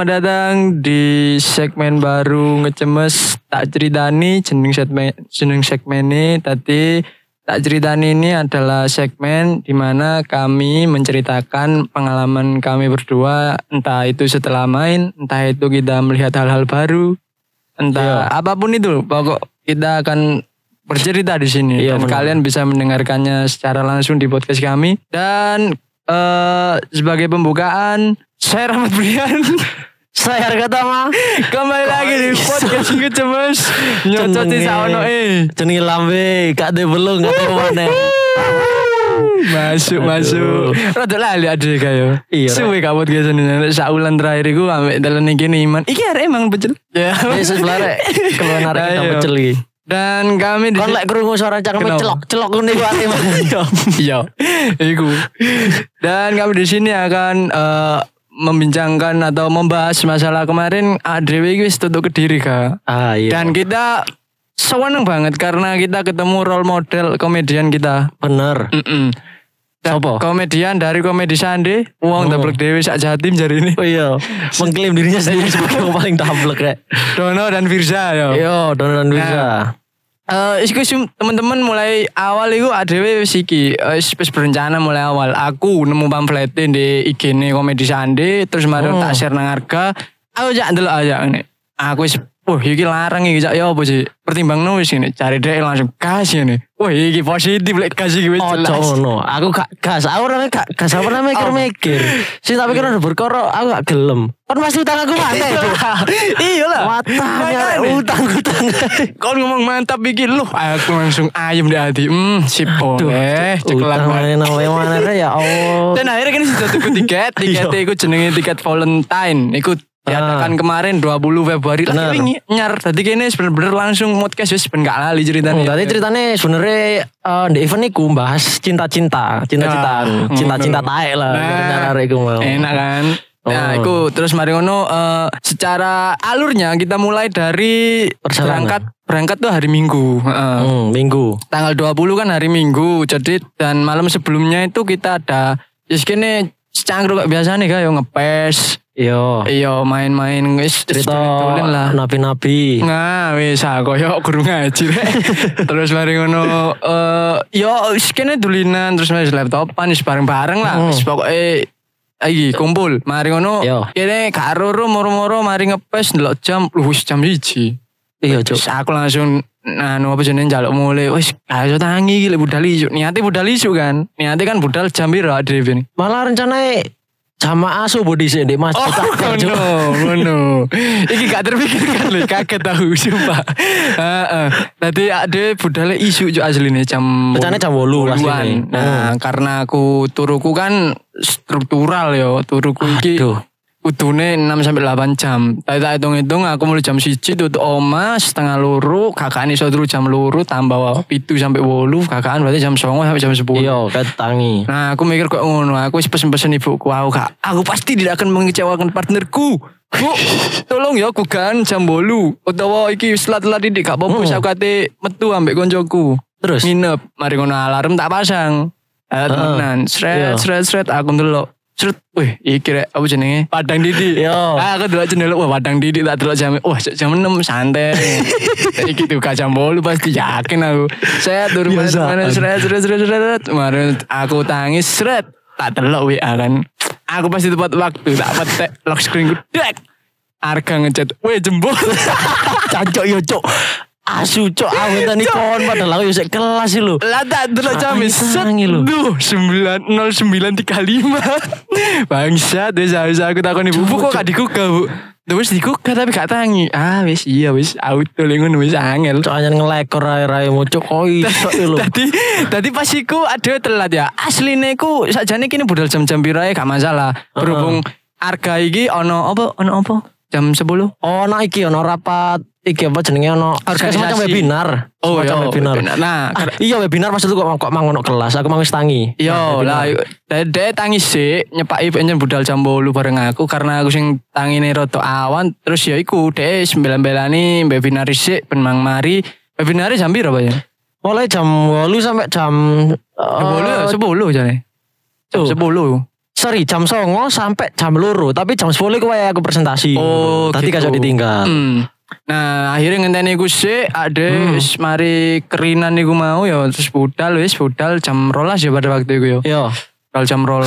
selamat datang di segmen baru ngecemes tak ceritani jeneng segmen ini tadi tak ceritani ini adalah segmen di mana kami menceritakan pengalaman kami berdua, entah itu setelah main, entah itu kita melihat hal-hal baru, entah apapun itu, pokok kita akan bercerita di sini dan kalian bisa mendengarkannya secara langsung di podcast kami. Dan sebagai pembukaan, saya Rahmat Brian, saya Harga Tama, kembali lagi di podcast ngecemes nyocot di saono jenenge lambe gak de belung gak de mana. Masuk. Rada lali ade kayo. Iya. Suwe gak podcast ini saulan terakhir iku ambek dalan iki Iman. Iki arek emang pecel. Ya. Yesus larek keluar arek kita pecel iki. Dan kami di kon lek krungu suara cangkeme celok ngene iku ati Mas. Iya. Iku. Dan kami di sini akan membincangkan atau membahas masalah kemarin Adrewi wis tutup Kediri Kak. Iya. Dan kita seneng banget karena kita ketemu role model komedian kita. Bener. Sopo? Komedian dari Komedi Sande, wong dablek dhewe sak Jatim jari ini. Oh iya, mengklaim dirinya sendiri sebagai yang paling dablek rek. Dono dan Firza yo. Yo, Dono dan Firza. Iku teman-teman mulai awal iku adewe wis iki wis berencana mulai awal. Aku nemu pamflete di IG-ne Komedi Sande, terus mari tak share nang Harga. Aku jak ndelok aja ngene. Aku wis iki larang iki jak yo apa sih? Pertimbangno wis ngene, cari dhek langsung gas ngene. Iki positif lek gas iki wis jelas. Oh, no. Aku gak gas, aku ora gak gas, apa namanya mikir. Sing tak pikir udah berkoro, aku gak gelem. Kan pasti utang aku mana itu. Iyalah. Watanya utang. Kon ngomong mantap iki lu, aku langsung ayem di hati. Sip boleh. Utang mana ya Allah. Dan akhirnya kan sudah tuku tiket iku jenenge tiket Valentine. Iku diadakan kemarin 20 Februari lah ini nyar. Tadi kene bener-bener langsung podcast wis ben gak lali ceritanya. Tadi ceritanya sebenarnya di event iku bahas cinta-cintaan taek lah. Enak kan? Nah, itu terus mari ngono secara alurnya kita mulai dari berangkat tuh hari Minggu. Minggu. Tanggal 20 kan hari Minggu. Jadi dan malam sebelumnya itu kita ada kene secangkruk biasa nih kayak ngepes. Iya main-main wis cerita nabi-nabi. Nah wis koyo guru ngaji rek. Terus mari ngono wis kene dulinan terus wis laptopan wis bareng-bareng lah. Wis pokoke iki kumpul. Mari ngono kene karo moro-moro mari ngepes ndelok jam wis jam 1. Iya cuk. Aku langsung apa jenenge njaluk mulai wis ayo tangi iki lek budal isu. Niate budal isu kan. Niate kan budal jam piro Adrevi. Malah rencanae jamaah subuh di sini Mas. Ngono. Iki gak terpikirkan lho, kaget tahu sumpah. Tadi ada budale isu jo asline jam. Rencana jam 8 asline. Nah, karena aku turuku kan struktural yo, turuku iki. Kudune 6-8 jam. Tak hitung-hitung aku mulai jam 1 tutup oma setengah 2, kakaan iso turu jam 2 tambah 7 sampai 8, kakaan berarti jam 9 sampai jam 10. Iya, ketangi. Nah, aku mikir kok ngono, aku wis pesen-pesen ibuku, aku pasti tidak akan mengecewakan partnerku. Bu, tolong ya aku kan jam 8 utawa iki wis telat-telat didik gak apa-apa aku kate metu ambek koncoku. Terus nginep, mari ngono alarm tak pasang. Tenan, sret aku ndelok. Wih, iki rek apa jenenge? Padang Didi. Aku delok jendelok Padang Didi tak delok jam. Jam 6 santai. Iki tuh jam 8 pasti yakin aku. Saya turun mana sret. Kemarin aku tangis sret. Tak delok WA kan. Aku pasti tepat waktu tak petek lock screen ku. Dek. Harga ngechat. Weh jembol. Cancok yo cok. Asu cok awet tani kon padahal aku yo kelas lho. Lah tak delok jam duh 9:09.35. Bangsat wis aku takon ibu kok gak dikuka Bu. Terus dikuka tapi gak tangi. Wis auto lengon wis angel. Soalnya ngelekor rai mucuk kok iso lho. Tadi pas iku ada telat ya. Asline ku sakjane kene budal jam-jam pirae gak masalah. Berhubung harga iki ono apa? Jam 10. Ono iki ono rapat. Iki apa jenenge ono semacam webinar. Webinar. Nah, iya webinar maksud kok mang ono kelas, aku mang wis tangi. Iya, lah dek tangi sik nyepaki penyen budal jam 8 bareng aku karena aku sing tangine rada awan, terus ya iku dek sembelan-belani webinar sik ben mang mari. Webinar jam piro ya? Mulai jam 8 sampai jam 10 jane. Jam 10. jam 9 sampai jam 2, tapi jam 10 iku wae aku presentasi. Oh, tadi gitu. gak ditinggal. Nah, akhirnya ngenteni iku sik ade wis mari kerinan iku mau ya terus budal jam 12 ya pada waktu itu ya. Yo. Kalau jam 12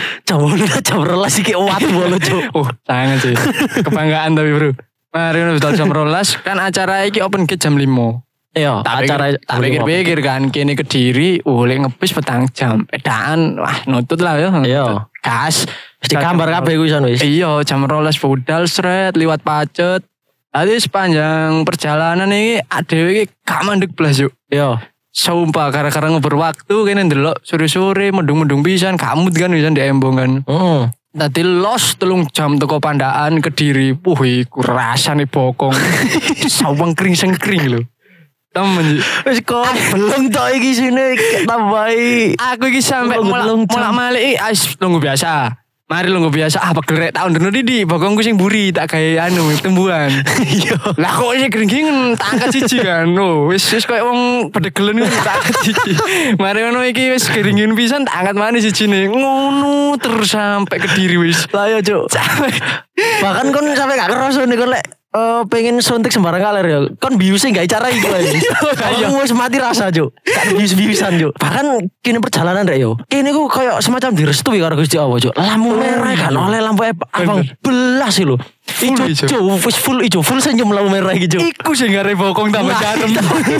jam 12 iki wat bolo, Cuk. Sayang sih. Kebanggaan tapi, Bro. Mari budal jam 12 kan acara iki open gate jam 5. Iya, acara tak pikir-pikir kan kene Kediri oleh ngepis petang jam. Edaan wah nutut lah ya. Iya. Gas. Mesti gambar kabeh kuwi san wis. Iya, jam 12 budal sret liwat pacet. Tadi sepanjang perjalanan ini adewe iki gak mandek blas yuk. Iya. Sumpah gara-gara ngobrol waktu kene ndelok sore-sore mendung-mendung pisan kamut kan pisan di Embong kan. Tadi los 3 jam teko Pandaan Kediri. Iku rasane bokong. Sawang kering-sengkring lho. Temen wis kok belum tok iki sini tambahi. Aku iki sampe mulak-malik nunggu biasa. Mari lungguh biasa pegel rek tak underno Didi bokongku sing buri tak gawe tembuhan. Iya. Lah kok sih gering-gering tak angkat siji kan. Wis koyo wong pedegelen tak angkat siji. Mari ngono iki wis geringin pisan tak angkat maneh sijine. Ngono terus sampai Kediri wis. Lah ya, Cuk. Bahkan kon sampe gak kerasa nih kon lek pengen suntik sembarang kaler ya. Kon biusnya gak cara iku ae. Aku wis mati rasa, Cuk. Gak bius-biusan, Cuk. Bahkan kini perjalanan rek yo. Kene ku koyo semacam direstui karo Gusti Allah, Cuk. Lampu merah kan oleh lampu abang belas sih lho. Ijo full senyum lampu merah iki, Cuk. Iku sing gare bokong tambah jarem.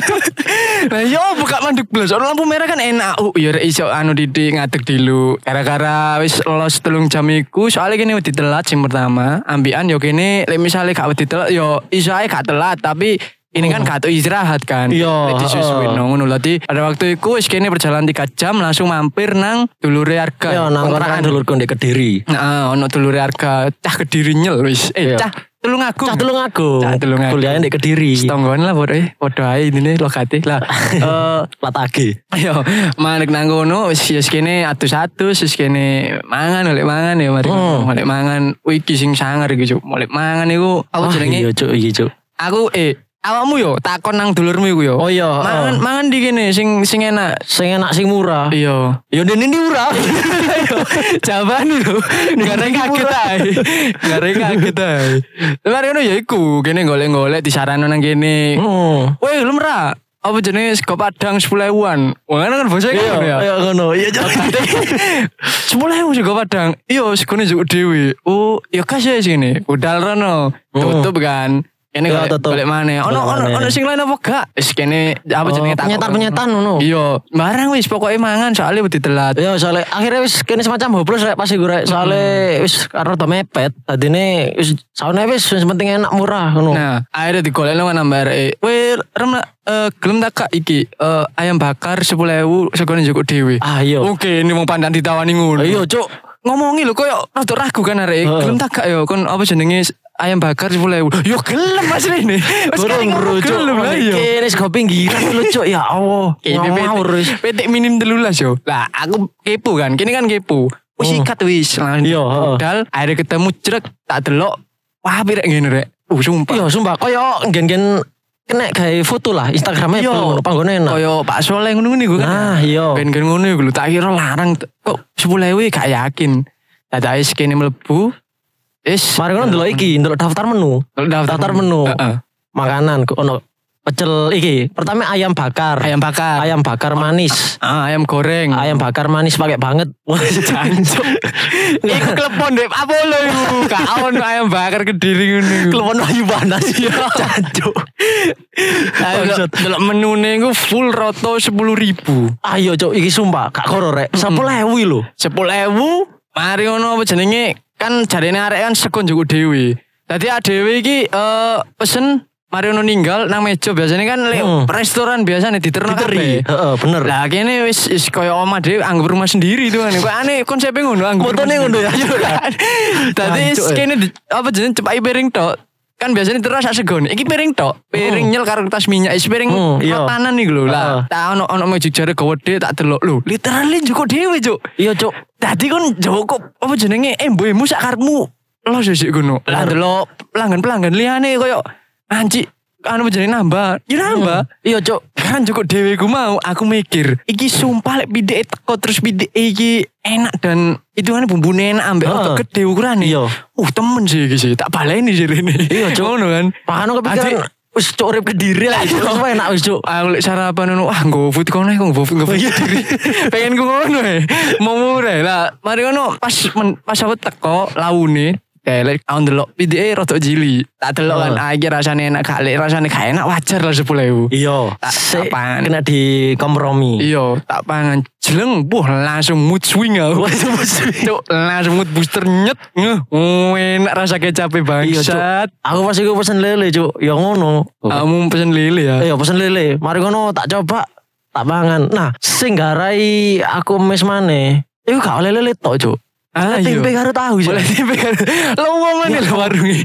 Lah yo buka mandek blas. Lampu merah kan enak. Ya rek iso Didi ngadeg dulu. Gara-gara wis los 3 jam iku soalnya kene wedi telat sing pertama. Ambian yo kene lek misale gak wedi telat yo iso ae gak telat tapi ini kan gak istirahat kan. Iya. Disusuin ngono lho. Pada waktu itu wis kene perjalanan 3 jam langsung mampir nang dulure Arga. Iya, nang kontrakan dulurku ndek Kediri. Heeh, ono dulure Arga. Cah Kediri nyel wis. Cah Tulungagung. Kuliahnya ndek Kediri. Setonggon lah padha ae intine lokate lah. Latake. Ayo, manek nang kono wis kene atus-atus wis kene mangan ya mari. Molek mangan. Iki sing sangar iki, Cuk. Molek mangan iku apa jenenge? Iya, Cuk, iki, Cuk. Aku awakmu yo takon nang dulurmu iku yo. Oh iya. Mangan di kene sing enak. Sing enak sing murah. Iya. Yo dene ini murah. Jawabane lho. Gareng kaget ae. Lha ngono ya iku, kene golek-golek disarano nang kene. Woi, lu merah. Apa jenenge sego Padang 10.000-an. Wah, kan basa ngono ya. Iya ngono. Iya, 10.000 sego Padang. Iya, segone njuk dhewe. Oh, ya kasih sini. Budal rono. Tutup kan. Kene golek maneh. Ono sing lain apa gak? Wis kene apa jenenge takon. Penyetan ngono. Iya, barang wis pokoke mangan soalnya wedi telat. Iya, soalnya akhirnya wis kene semacam hopeless rek pas iku rek. Soalnya wis karo do mepet. Dadine wis saune wis penting enak murah ngono. Nah, akhirnya digolekno nang mbare. Weh, gelem tak kak iki ayam bakar 10.000 segone njukuk dhewe. Iya. Oke, ini wong pandang ditawani ngono. Iya, Cuk. Ngomongi lho koyo rada ragu kan arek. Gelem tak kak yo kon apa jenenge ayam bakar 10.000. Yo gelem Mas Rene. Wis gelem lah yo. Kene sego pinggiran lho, Cuk. Ya Allah. Petik minim 13 yo. Lah aku kepo kan. Kene kan kepo. Wis ikat wis. Modal akhirnya ketemu jrek tak delok. Wah, pirek ngene rek. Sumpah. Iya, sumpah koyo gen-gen kena gawe foto lah Instagramnya ngono panggone enak. Koyo Pak Soleh ngono iku kan. Nah, iya. Gen-gen ngono iku lho tak kira larang kok 10.000 gak yakin. Dadak wis kene mlebu. Mari ngono ndelok iki, ndelok daftar menu. Daftar menu. Makanan ono pecel iki. Pertama ayam bakar manis. Ayam goreng. Ayam bakar manis pakai banget. Wah, jancuk. Iku klepon Dek Apollo iku. Gak ono ayam bakar Kediri ngono. Klepon ayu panas ya. Jancuk. Delok menune iku full roto 10.000. Ayo, Cuk, iki sumpah gak koro rek. 10.000 lho. 10.000. Mari ngono apa jenenge? Kan jarene arek kan sego njuk dhewe. Dadi dhewe iki pesen mari ono ninggal nang meja biasanya kan restoran biasanya diterno kabeh. Heeh, bener. Lah kene wis koyo omah dhewe anggap rumah sendiri itu kan. Kok aneh konsepnya ngono anggap. Fotone ngono ya. Dadi kene apa jenenge cepaki piring tok. Kan biasanya terus sak segone. Iki piring tok. Piring nyel karo tas minyak. Is piring makanan iki lho. Lah, tak ono meja jare gede tak delok lho. Literally njuk dhewe, Cuk. Iya, Cuk. Dadi kon njoko apa jenenge mbokmu sak karepmu. Lo sik ngono. Lah delok pelanggan-pelanggan liyane koyo anci anu jenenge nambah. Ya nambah. Iya, Cuk. Kan cukup dhewe ku mau aku mikir, iki sumpah lek pideke teko terus pideke iki enak dan itu kan bumbune enak ambek otot gede ukurane. Iya. Temen sih iki sih. Tak baleni sih rene. Iya, Cuk. Ngono kan. Makane kepikiran wis cuk urip Kediri lah itu. Wis enak wis, Cuk. Aku lek sarapan ngono, nggo food kono nggo food Kediri. Pengen ku ngono mau murah lah. Mari ngono pas aku teko laune lek aku ndelok pideke rada jili. Tak delok kan iki rasane enak gak lek rasane gak enak wajar lah 10.000. Iya. Tak pangan. Kena di kompromi. Iya, tak pangan jeleng, langsung mood swing aku. Cuk, langsung mood booster nyet. Enak rasa kecape bangsat. Aku pas iku pesen lele, Cuk. Ya ngono. Kamu pesen lele ya? Iya, pesen lele. Mari ngono tak coba, tak pangan. Nah, sing garai aku mes maneh. Iku gak oleh lele tok, Cuk. Tempe karo tahu sih. Oleh tempe karo. Lo ngomong nih warungnya.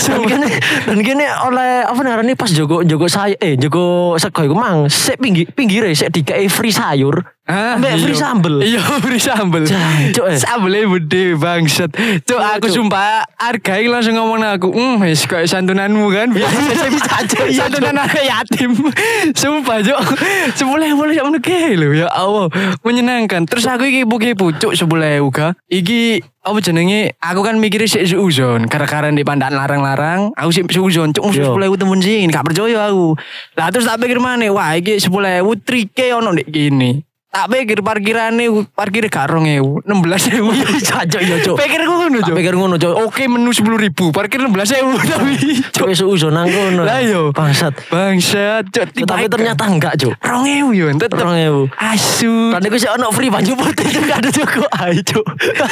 Dan gini oleh apa namanya pas jogo sayur jogo sego iku mang sik pinggire sik dikei free sayur. Ambek free sambel. Iya, free sambel. Cuk, sambelnya gede bangsat. Cuk, aku sumpah hargai langsung ngomong aku. Wis koyo santunanmu kan. Biasa bisa aja. Santunan anak yatim. Sumpah, Cuk. 10.000 sak meneh lho ya Allah. Menyenangkan. Terus aku iki kepo Cuk 10.000 ga. Iki apa jenenge? Aku kan mikirnya sik suuzon. Gara-gara di pandan larang-larang, aku sik suuzon. Cuk, 10.000 temen sing gak percaya aku. Lah terus tak pikir maneh, wah iki 10.000 trike ono ndek kene. Tak pikir parkirnya gak 2.000, 16.000. Jancuk ya, Cuk. Pikirku ngono, Cuk. Pikir ngono, Cuk. Oke, menu 10.000, parkir 16.000 tapi. Cuk wis suuzon nang kono. Lah yo. Bangsat, Cuk. Tapi ternyata enggak, Cuk. 2.000 yo, tetep 2.000. Asu. Kan iku sik ono free banyu putih gak ada cukup. Ayo, Cuk.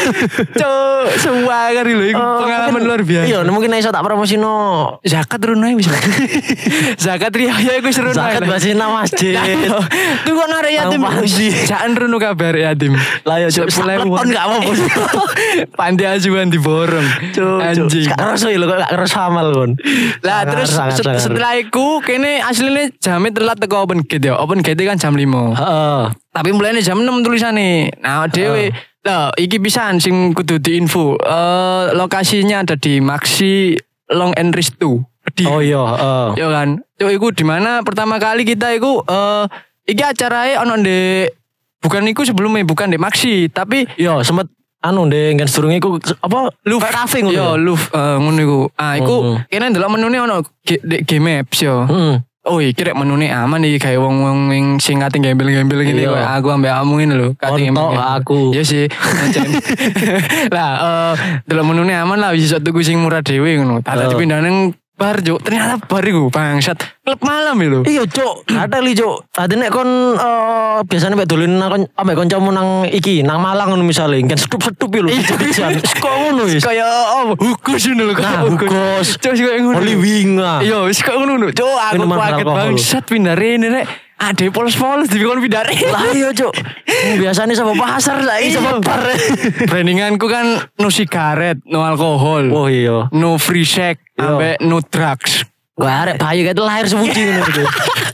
Cuk, suwagar lho iku pengalaman luar biasa. Iya, mungkin iso tak promosino. Zakat turun ae wis. Zakat riya iku seru ae. Zakat basina masjid. Tuh kok narik yatim. Jangan runu kabar yatim. Lah ya Cuk, kon gak apa-apa. Panti asuhan diborong. Anjing. Gak ngerasa lho kok gak ngerasa amal kon. Lah terus setelah iku kene asline jame telat teko open gate ya. Open gate kan jam 5. Heeh. Tapi mulainya jam 6 tulisane. Nah, dhewe lah iki pisan sing kudu diinfo. Lokasinya ada di Maxi Long and Resto. Oh iya, Yo kan. Cuk iku di mana pertama kali kita iku iki acarae ono ndek bukan iku sebelumnya bukan di Maxi tapi yo sempet anu ndek kan sedurunge iku apa Louvre Cafe ngono. Yo Louvre ngono iku. Iku kene ndelok menune ono G-Maps yo. Oh iki rek menune aman iki gawe wong-wong sing kate gembel-gembel ngene kok aku ambek kamu ngene lho kate gembel. Aku. Ya sih. Lah ndelok menune aman lah bisa tuku sing murah dhewe ngono. Tak dipindah nang bar Cuk, ternyata bar iku bangsat. Klub malam lho. Iya Cuk, ada li Cuk. Tadi nek kon biasane mek dolen nang ambek kancamu nang iki, nang Malang ngono misale, kan setup-setup lho. Kok ngono wis. Kaya hukus ngono lho. Hukus. Cuk koyo ngono. Oli winga. Iya, wis kok ngono. Cuk, aku kaget bangsat pindah rene rek. Ade polos-polos dikon pindah rene. Lah iya Cuk. Biasane sama pasar saiki sama bar. Brandinganku kan no sigaret, no alkohol. Oh iya. No free sex, ambek no drugs. Wah, arek bayi kayak lahir semuji ngono Cuk.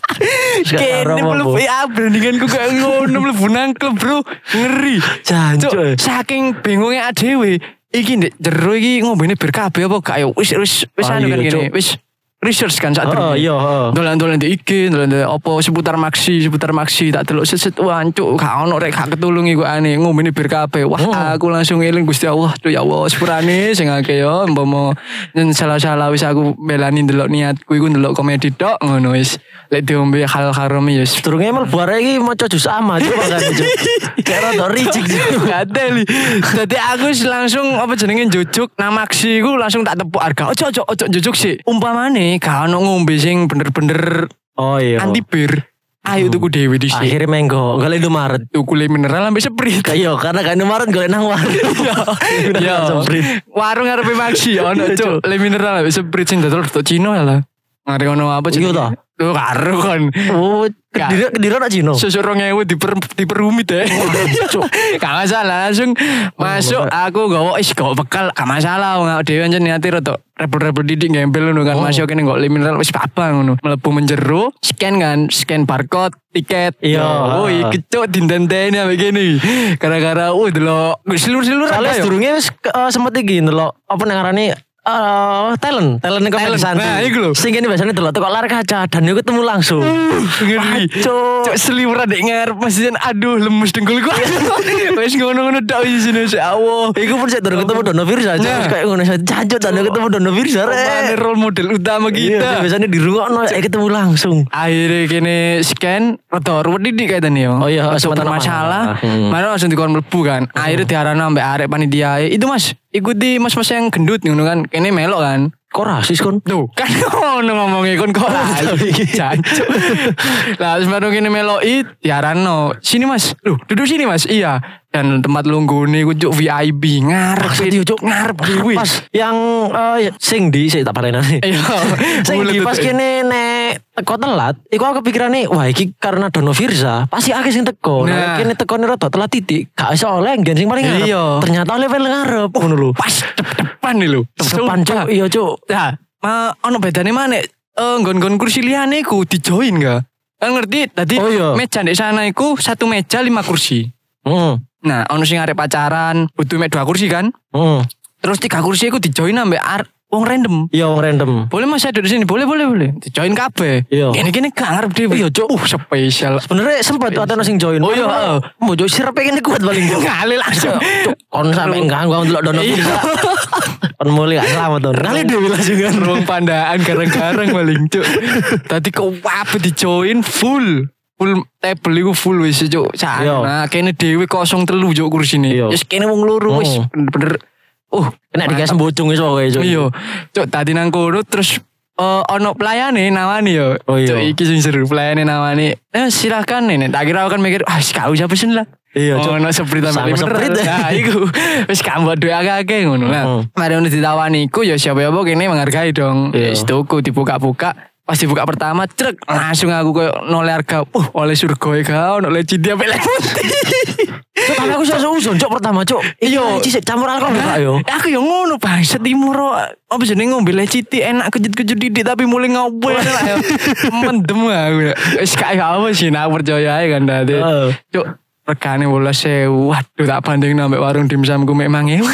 Kene mlebu brandinganku kayak ngono mlebu nang klub, Bro. Ngeri. Jancuk. Saking bingungnya dhewe. Iki ndek jero iki ngombene bir kabeh apa gak ya? Wis anu kan kene. Wis research kan saat itu. Iya, dolan-dolan di IG, dolan apa seputar Maxi tak delok set wancuk gak ono rek gak ketulungi kok aneh ngomene bir kabeh. Wah, aku langsung eling Gusti Allah, tuh ya Allah sepurane sing akeh yo umpama salah-salah wis aku belani ndelok niatku iku ndelok komedi tok ngono wis. Lek diombe hal haram ya wis. Durunge mlebu arek iki maca juz amma coba kan. Kayak rada ricik gadel. Dadi aku langsung apa jenenge jujuk nang Maxi iku langsung tak tepuk harga. Ojo jujuk sih. Umpamane gak ono ngombe sing bener-bener anti bir. Ayo tuku dhewe dhisik. Akhirnya menggo, golek Indomaret. Tuku le mineral ambek Sprite. Iya, karena kan Indomaret golek nang warung. Iya. Warung ngarepe Maxi ono cuk, le mineral ambek Sprite sing dodol tok Cino lah. Ngarep ono apa jenenge? Iya to. Tuh karo kan. Oh, Kediri nak Cino. Susuk 2.000 diperumit ya. Gak masalah langsung masuk aku gawa bekal gak masalah wong dhewe ancen niate rada rebel-rebel didik gembel ngono kan masuk kene nggo mineral wis apa ngono. Mlebu menjero, scan barcode tiket. Iya. Oh iki cuk dintenteni ambek kene. Gara-gara delok silur-silur ada yo. Sedurunge wis sempet iki ndelok apa nang ngarani talent komedi santai. Nah, iku lho. Sing kene biasane delok teko layar kaca dan yo ketemu langsung. Ngeri. Cuk seliweran dek ngarep masih aduh lemes dengkulku. Wis ngono-ngono tok isine sik Allah. Iku pun sik durung ketemu Dono Firza. Terus kayak ngono jancuk dan ketemu Dono Firza. Mana role model utama kita. Biasanya dirungokno ketemu langsung. Akhirnya kene scan rada ruwet didik kayaknya yo. Oh iya, sempat masalah. Mana langsung dikon mlebu kan. Akhirnya diarani ambek arek panitia. Itu Mas, ikuti mas-mas yang gendut ngono kan. Kene melok kan. Kok rasis kon? Tuh kan ngono ngomongnya kon kok rasis. Jancuk. Lah terus baru kene meloki diarano. Sini Mas. Loh, duduk sini Mas. Iya. Dan tempat lunggune ku cuk VIP ngarep cuk ngarep kuwi. Pas yang sing di sik tak parenane. Iya. Sing di pas kene nek teko telat, iku aku pikirane wah iki karena Dono Firza, pasti akeh sing teko. Nek kene tekone rada telat titik, gak iso oleh nggen sing paling ngarep. Ternyata oleh paling ngarep ngono lho. Pas depan nih lho. Depan cuk. Iya cuk. Nah, ono bedane maneh nggon-nggon kursi liyane ku di-join gak? Kan ngerti tadi meja di sana iku satu meja 5 kursi. Nah, ono sing arep pacaran, butuh mek 2 kursi kan? Terus 3 kursi iku di-join ambek wong random. Iya, wong random. Boleh Mas saya duduk sini, boleh. Di-join kabeh. Gini-gini gak ngarep dhewe. Iya, cuk. Spesial. Sebenarnya sempat ada sing join. Oh iya, Mojo sirep pengen kuat paling. Ngali langsung. Kon sampe ganggu delok Dono Firza. Kon mulai gak selamat tuh. Kali dhewe langsung kan ruang pandaan garang-garang paling, cuk. Tadi kok wape di-join full table iku full wis cuk. Nah, kene dhewe 03 cuk kursine. Wis kene wong loro wis bener. Kena digas mbocung wis pokoke cuk. Iya. Cuk tadi nang kono terus ono pelayane nawani yo. Cuk iki sing seru pelayane nawani. Silakan nek tak kira kan mikir gak usah pesen lah. Iya cuk. Ono seprit sama seprit. Nah iku wis kambot duwe akeh-akeh ngono lah. Mari ono ditawani iku ya siapa-siapa kene menghargai dong. Wis tuku dibuka-buka. Pas dibuka pertama, trek langsung aku kayak noleh harga. Oleh surga ya ono oleh cinta sampai putih. Tapi aku susun cok pertama cok. Iya, cisik campur alkohol gak yo. Aku yo ngono Bang, timur apa jenenge ngombe leciti enak kejut-kejut didik tapi mulai ngopo lah yo. Mendem aku. Wis gak apa sih aku percaya ae kan tadi. Cok regane 18.000. Waduh tak banding nambah warung dimsumku memang ya.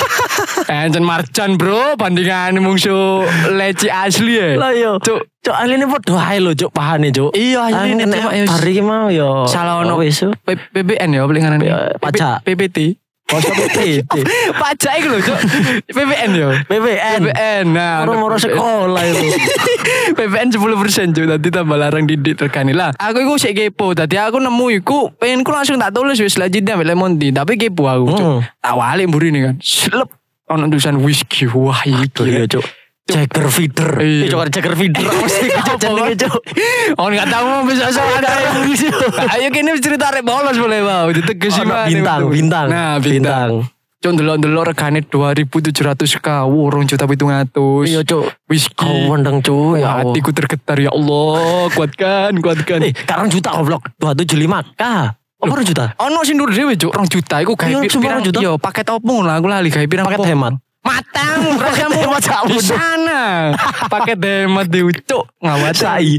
Encen marjan bro, bandingan mungsu leci asli ya. Lah yo. Cuk asline padha ae lho cuk pahane cuk. Iya asline nek hari iki mau yo. Salah ono PBN ya pelinganan pajak PPT. PPT. Pajak iku lho cuk. PBN yo. PBN. Nah, moro sekolah itu. PBN 10% cuk, tadi tambah larang didik terkani lah. Aku iku sik kepo, tadi aku nemu iku pengenku langsung tak tulis wis selanjutnya ambek Lemonti, tapi kepo aku cuk. Tak walik mburine kan. Slep ono tulisan whisky. Wah iki ya cuk. Jager feeder. Cuk Jager feeder. Jenenge cuk. Oh enggak tahu bisa ada. Ayo kene cerita arek bolos boleh wow. Ditegesi bintang. Nah, bintang. Cuk ndelok-ndelok regane 2.700k. 2.700. Iya cuk. Whisky. Wendeng cuk. Ya hatiku tergetar ya Allah. Kuatkan. Sekarang juta goblok. 275k. Apa 2 juta? Ono sing dhuwur dhewe cuk 2 juta iku gawe pirang yo paket opo lah aku lali gawe pirang paket hemat. Matang rasamu di sana. Paket hemat di ucuk ngawat sai.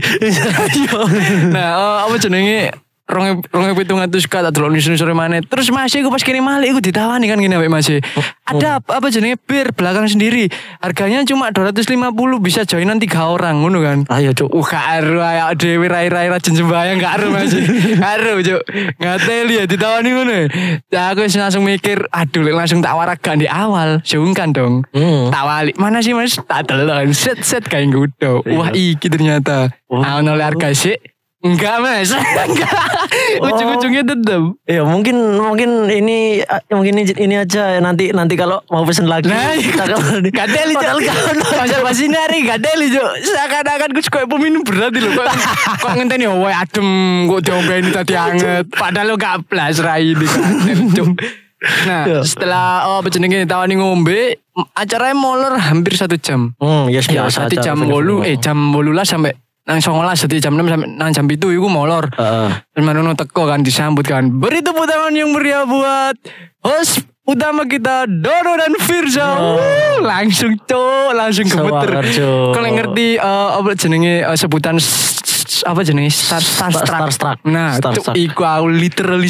Nah, apa jenenge 2.700 tak delok sore maneh. Terus masih aku pas kene malih aku ditawani kan gini ambek masih. Ada apa jenenge bir belakang sendiri. Harganya cuma 250 bisa joinan 3 orang ngono kan. Ayo cuk. Karo ayo dhewe rai-rai rajin sembayang gak aru masih. Karo cuk. Ngateli ya ditawani ngono. Ya aku langsung mikir, aduh langsung tak waragan di awal. Sungkan dong. Tak wali. Mana sih Mas? Tak delok set kayak gudo. Wah iki ternyata. Ono harga sih. Enggak Mas, enggak. Ujung-ujungnya tetap. Ya mungkin ini aja nanti kalau mau pesen lagi. Nah, kita gadeli cok. Pasal pasinari gadeli cok. Seakan-akan gue suka peminum berat lho. Kok ngenteni wae adem kok diombeni tadi anget. Padahal lo gak blas rai iki cok. Nah, setelah jenenge tawani ngombe, acaranya molor hampir 1 jam. Yes biasa. 1 jam 8 jam 18 sampai nang 19 jadi jam 6 sampai nang jam 7 iku molor. Terus Marono teko kan disambut kan. Beri tepuk tangan yang meriah buat host utama kita Dono dan Firza. Langsung gemeter. Kalau ngerti apa jenenge sebutan apa jenenge Starstruck. Nah, iku aku literally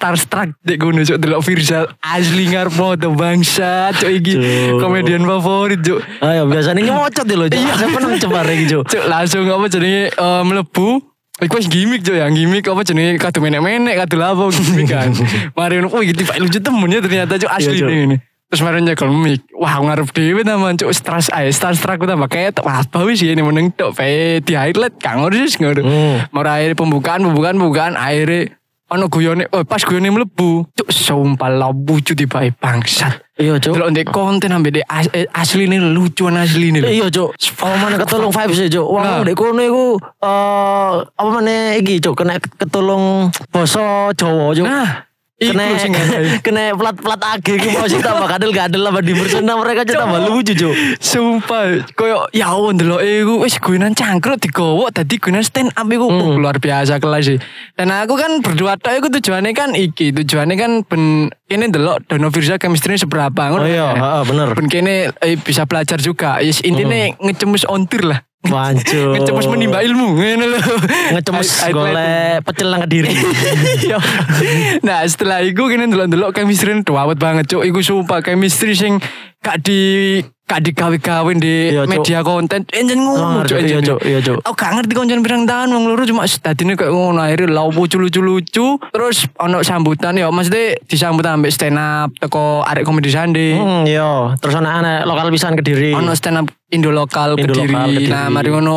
starstruck dek ngono cuk delok Firza asli ngarep moto bangsa cuk iki komedian favorit cuk. Ayo biasanya nyocot lho cuk. Saya pernah cebar iki cuk. Cuk langsung apa jenenge mlebu. Iku wis gimmick cuk, yang gimmick apa jenenge kado menek-menek kado lapo gimmick kan. Mari ngono, oh iki tiba lucu temen ya ternyata cuk asli ini. Terus mari nyekel mic. Wah ngarep dhewe taman cuk starstruck tambah kayak apa wis ini meneng tok pe di highlight kang wis ngono. Mari akhirnya pembukaan akhirnya ono guyone pas guyone mlebu cuk sumpah lucu tiba bangsat. Iya cuk. Delok ndek konten ambek asline lucuan asline. Iya cuk. Oh mana ketolong vibes cuk. Wong ndek kono iku apa meneh iki cuk kena ketolong basa Jawa cuk. Nah kena plat AG ki mau sih tambah gadel-gadel apa di persona mereka cek tambah lucu cuk. Sumpah koyo ya Allah ndelok iku wis guyonan cangkruk digowo dadi guyonan stand up iku luar biasa kelas sih. Dan aku kan berdua tok iku tujuannya kan ben kene ndelok Dono Firza chemistry seberapa ngono. Oh iya, heeh bener. Ben kene bisa belajar juga. Yes intine ngecemus ontir lah. Wancuk. Ngecemus menimba ilmu ngene lho. Ngecemus golek pecel nang Kediri. Nah, setelah iku kene ndelok-ndelok chemistry awet banget cuk. Iku sumpah chemistry sing gak digawe-gawe di media konten. Enjen ngono cuk. Iya cuk. Aku gak ngerti konten pirang tahun wong loro cuma dadine kayak ngono akhirnya lucu-lucu. Terus ono sambutan ya maksudnya disambut ambek stand up teko arek komedi sande. Iya. Terus ana lokal pisan Kediri. Ono stand up Indo lokal Kediri. Nah, mari ngono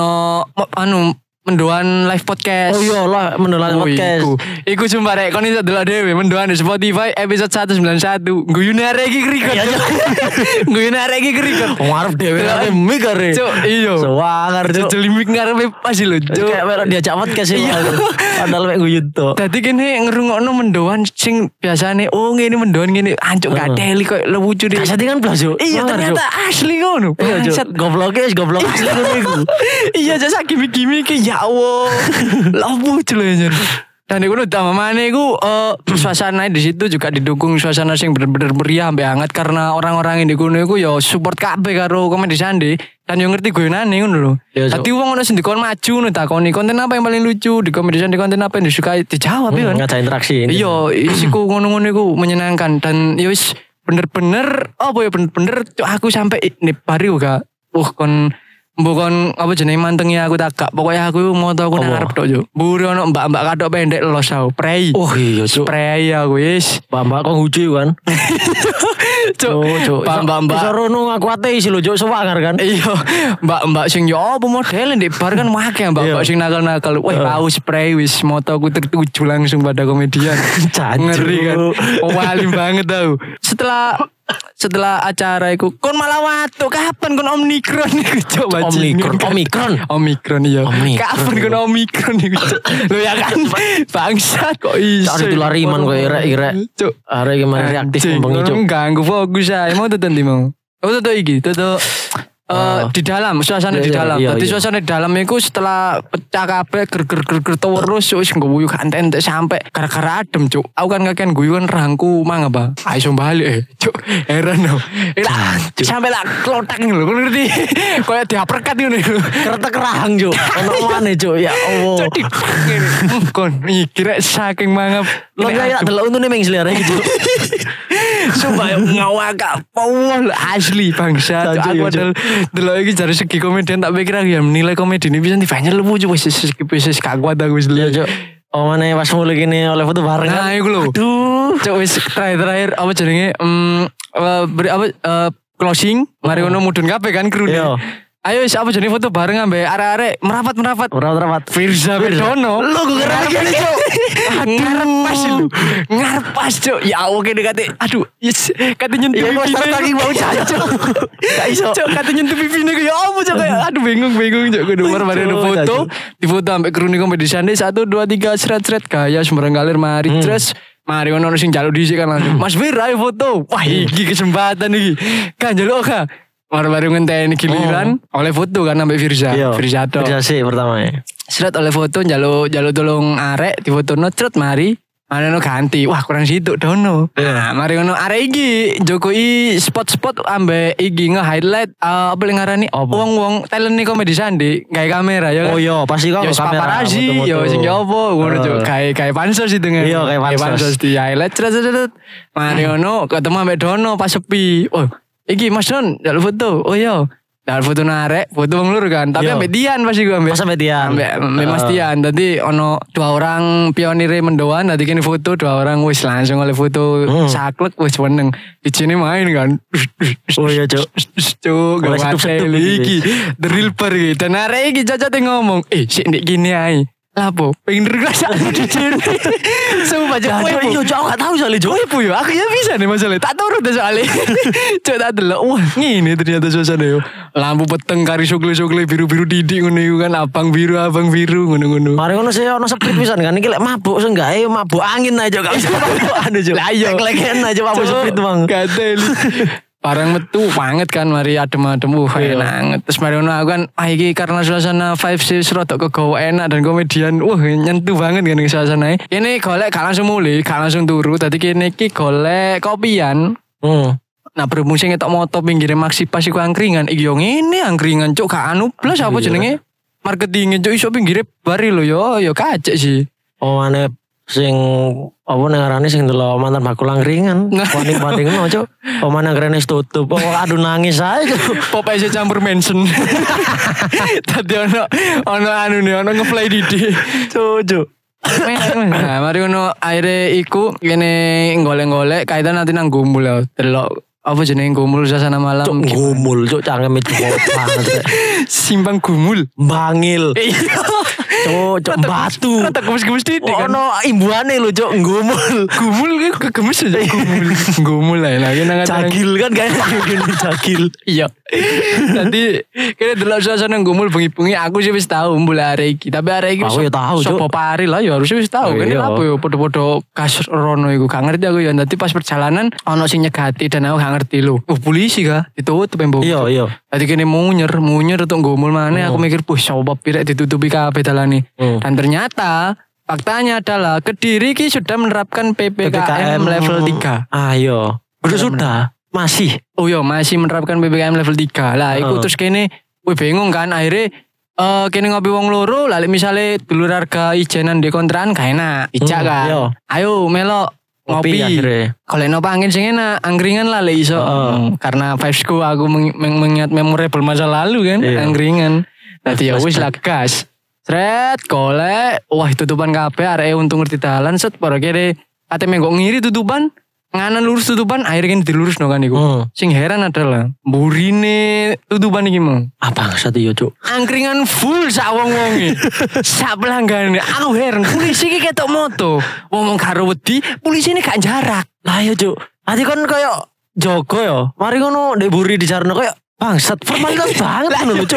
ono mendoan live podcast. Oh iya lah mendoan podcast. Iku sumpah rek kon iso delok dhewe mendoan di Spotify episode 191. Guyune arek iki record. Guyune arek iki record. Ngarep dhewe arek mik arek. Cuk, iya. Sewangar cuk. Jelimik ngarepe pas lho, cuk. Kayak melok diajak podcast ya. Padahal mek guyut to. Dadi kene ngrungokno mendoan sing biasane ngene mendoan ngene ancuk gak teli kok lucu deh. Kasati kan blas cuk. Iya ternyata asli ngono. Iya goblok asli ngono iku. Iya jasa gimik-gimik ya Allah. Lucu lho anjir. Dan iku utama mana iku suasana di situ juga didukung suasana sing bener-bener meriah sampai hangat karena orang-orang yang di kono iku ya support kabeh karo komedi sandi dan yo ngerti guyonane ngono lho. Dadi wong ono sing dikon maju ngono takoni konten apa yang paling lucu di komedi sandi konten apa yang disukai dijawab ya. Ngajak interaksi. Iya, isiku ngono-ngono iku menyenangkan dan ya wis bener-bener bener-bener aku sampai nih pari uga kon bukan apa jenenge mantengnya aku tak gak pokoknya aku mau tau aku nang arep tok yo. Mburi ono mbak-mbak kadok pendek los tau. Prei. Oh iya cuk. Prei aku wis. Mbak kok lucu kan. Cuk. Mbak. Sarono aku ateis lho cuk sewangar kan. Iya. Mbak sing yo apa model ndek bar kan akeh mbak sing nakal-nakal. Wah tahu spray wis moto aku tertuju langsung pada komedian. Ngeri kan. Wali banget tau. Setelah acara iku kon malah watuk kapan kon Omikron iku coba Omikron iya kapan kon Omikron iku lho ya kan bangsat kok iso cari tulariman kok irek arek gimana reaktif bengi cuk ganggu fokus ae mau tenan di mau iki di dalam suasana di dalam. Jadi suasana di dalam itu setelah pecah kabeh ger terus wis ngguyu gak entek sampai gara-gara adem cuk. Aku kan kakean guyu kan rangku mang apa. Ayo balik cuk. Heran no. Sampai lah klotak lho kon ngerti. Kayak diaperkat ngono iku. Kretek rahang cuk. Ono maneh cuk ya Allah. Cuk kon iki rek saking mangap. Lo kayak delok untune ming selera iki cuk. Sumpah ngawak pol asli bangsa. Aku delok iki dari segi komedian tak pikir aku ya menilai komedi ini bisa dibanyak lucu wis gak kuat aku wis lihat. Oh mana pas mulai gini oleh foto bareng kan. Nah iku lho. Aduh. Cuk wis terakhir apa jenenge closing mari ngono mudun kabeh kan kru. Ayo wis apa jenenge foto bareng ambek arek-arek merapat. Firza Bedono. Lu gue ngerti cuk. Ngarep pas cuk. Ya Allah kene kate aduh yes kate nyentuh pipi. Ya lagi mau jancuk. Gak iso. Cuk kate nyentuh pipine ku ya apa cuk kayak aduh bingung cuk kudu mari ada foto. Di foto ambek kru ni komedi sande 1 2 3 sret gaya sembarang galer mari terus mari ono sing njaluk dhisik kan langsung. Mas Fir ayo foto. Wah iki kesempatan iki. Kan njaluk ka. Baru ngenteni giliran oleh foto kan sampai Firza sih pertama ya. Seret oleh foto jaluk tolong arek di foto nocret mari Mari ngono ganti. Wah, kurang situ dono. Nah, mari ngono arek iki njokoi spot-spot ambek iki nge-highlight apa yang ngarani wong-wong talent nih komedi sandi gawe kamera ya kan. Oh iya, pasti kok Ya kamera. paparazzi, ya sing opo ngono Cuk. Kayak pansos itu kan. Iya, kayak pansos. Di highlight cet. Mari ngono ketemu ambek dono pas sepi. Oh, iki Mas Don, njaluk foto. Oh iya. Njaluk foto narek, foto wong lur kan. Tapi ambek Dian pasti gue ambek. Pas sampai Dian. Ambek Mas Dian. Tadi ono 2 orang pionire mendoan, tadi kene foto 2 orang wis langsung oleh foto saklek wis weneng. Di sini main kan. Oh iya, Cuk. Cuk, Mulai gak setup-setup iki. The real per iki. Dan arek iki cocok ngomong, sik ndek gini ae. Lapo, pengen regresa di sini. Sumpah Cuk. Iya, Cuk, aku gak tahu soalnya, Cuk. Ibu ya, aku ya bisa nih masalahnya. Tak turut deh soalnya. Cuk tak delok. Wah, ngene ternyata suasana yo. Lampu peteng kari sokle-sokle biru-biru didik ngono iku kan abang biru ngono-ngono. Mari ngono sih ono seprit pisan kan iki lek mabuk sing gak mabuk angin aja gak bisa mabuk anu Cuk. Lah iya. Lek-leken aja mabuk seprit Bang. Gatel. Barang metu banget kan mari adem-adem enak. Terus mari ngono aku kan iki karena suasana vibe sih rodok kegawa enak dan komedian nyentuh banget kan suasananya. Ini golek gak langsung mulai, gak langsung turu. Tadi kene iki golek kopian. Nah berhubung sing ngetok moto pinggire Maxi pas iku angkringan. Iki yo ngene angkringan Cuk gak anu plus apa jenenge? Marketingnya Cuk iso pinggire bari lho yo kacek sih. Oh aneh sing apa ngarane sing delok mantan bakul angkringan. Paning-paning no Cuk. Omane angkringan wis tutup. Oh aduh nangis ae Cuk. Pop aja campur mention. Tadi ono anu nih ono nge-play didi. Cuk. Nah, mari ngono akhirnya iku kene golek-golek kaitan nanti nang gumul ya. Delok apa jenenge gumul suasana malam. Cuk gumul Cuk cangkeme Cuk banget. Simpang gumul. Bangil. Cuk batu. Rata gemes-gemes titik kan. Ono imbuhane lho Cuk gumul. Gumul iku kegemes aja gumul. Gumul lah lagi nang Cagil kan gak gini cagil. Iya. Tadi kene delok suasana gumul bengi-bengi aku sih wis tahu mulai arek iki. Tapi arek iki aku ya tahu Cuk. Sopo pari lah ya harus wis tahu. Kene apa yo podo-podo kasus rono iku gak ngerti aku ya. Dadi pas perjalanan ono sing nyegati dan aku gak ngerti lho. Polisi kah? Ditutup embok. Iya. Tadi kene munyer untuk gumul mana aku mikir sopo pirek ditutupi kabeh dalane. Dan ternyata faktanya adalah Kediri ki sudah menerapkan PPKM level 3. Ayo. Sudah. Masih. Oh iya masih menerapkan PPKM level 3. Lah iku terus kene bingung kan akhirnya kene ngopi wong loro lah misale dulur harga ijenan di kontrakan gak enak. Ijak kan. Iya. Ayo melok ngopi. Kalau no angin sing enak angkringan lah le iso. Karena vibesku aku mengingat memorable masa lalu kan angkringan. Dadi ya wis lah gas. Sret golek wah tutupan kabeh arek untung ngerti dalan set para kene ate menggok ngiri tutupan nganan lurus tutupan akhirnya kan dilurus no kan iku. Sing heran adalah mburine tutupan iki mau. Apa satu yo Cuk? Angkringan full sak wong-wonge. Sak pelanggane. Aku heran polisi iki ketok moto. Wong karo wedi, polisi ini gak jarak. Lah yo Cuk. Ati kon koyo Joko yo. Mari ngono ndek buri dijarno koyo bangsat formalitas banget ngono Cuk.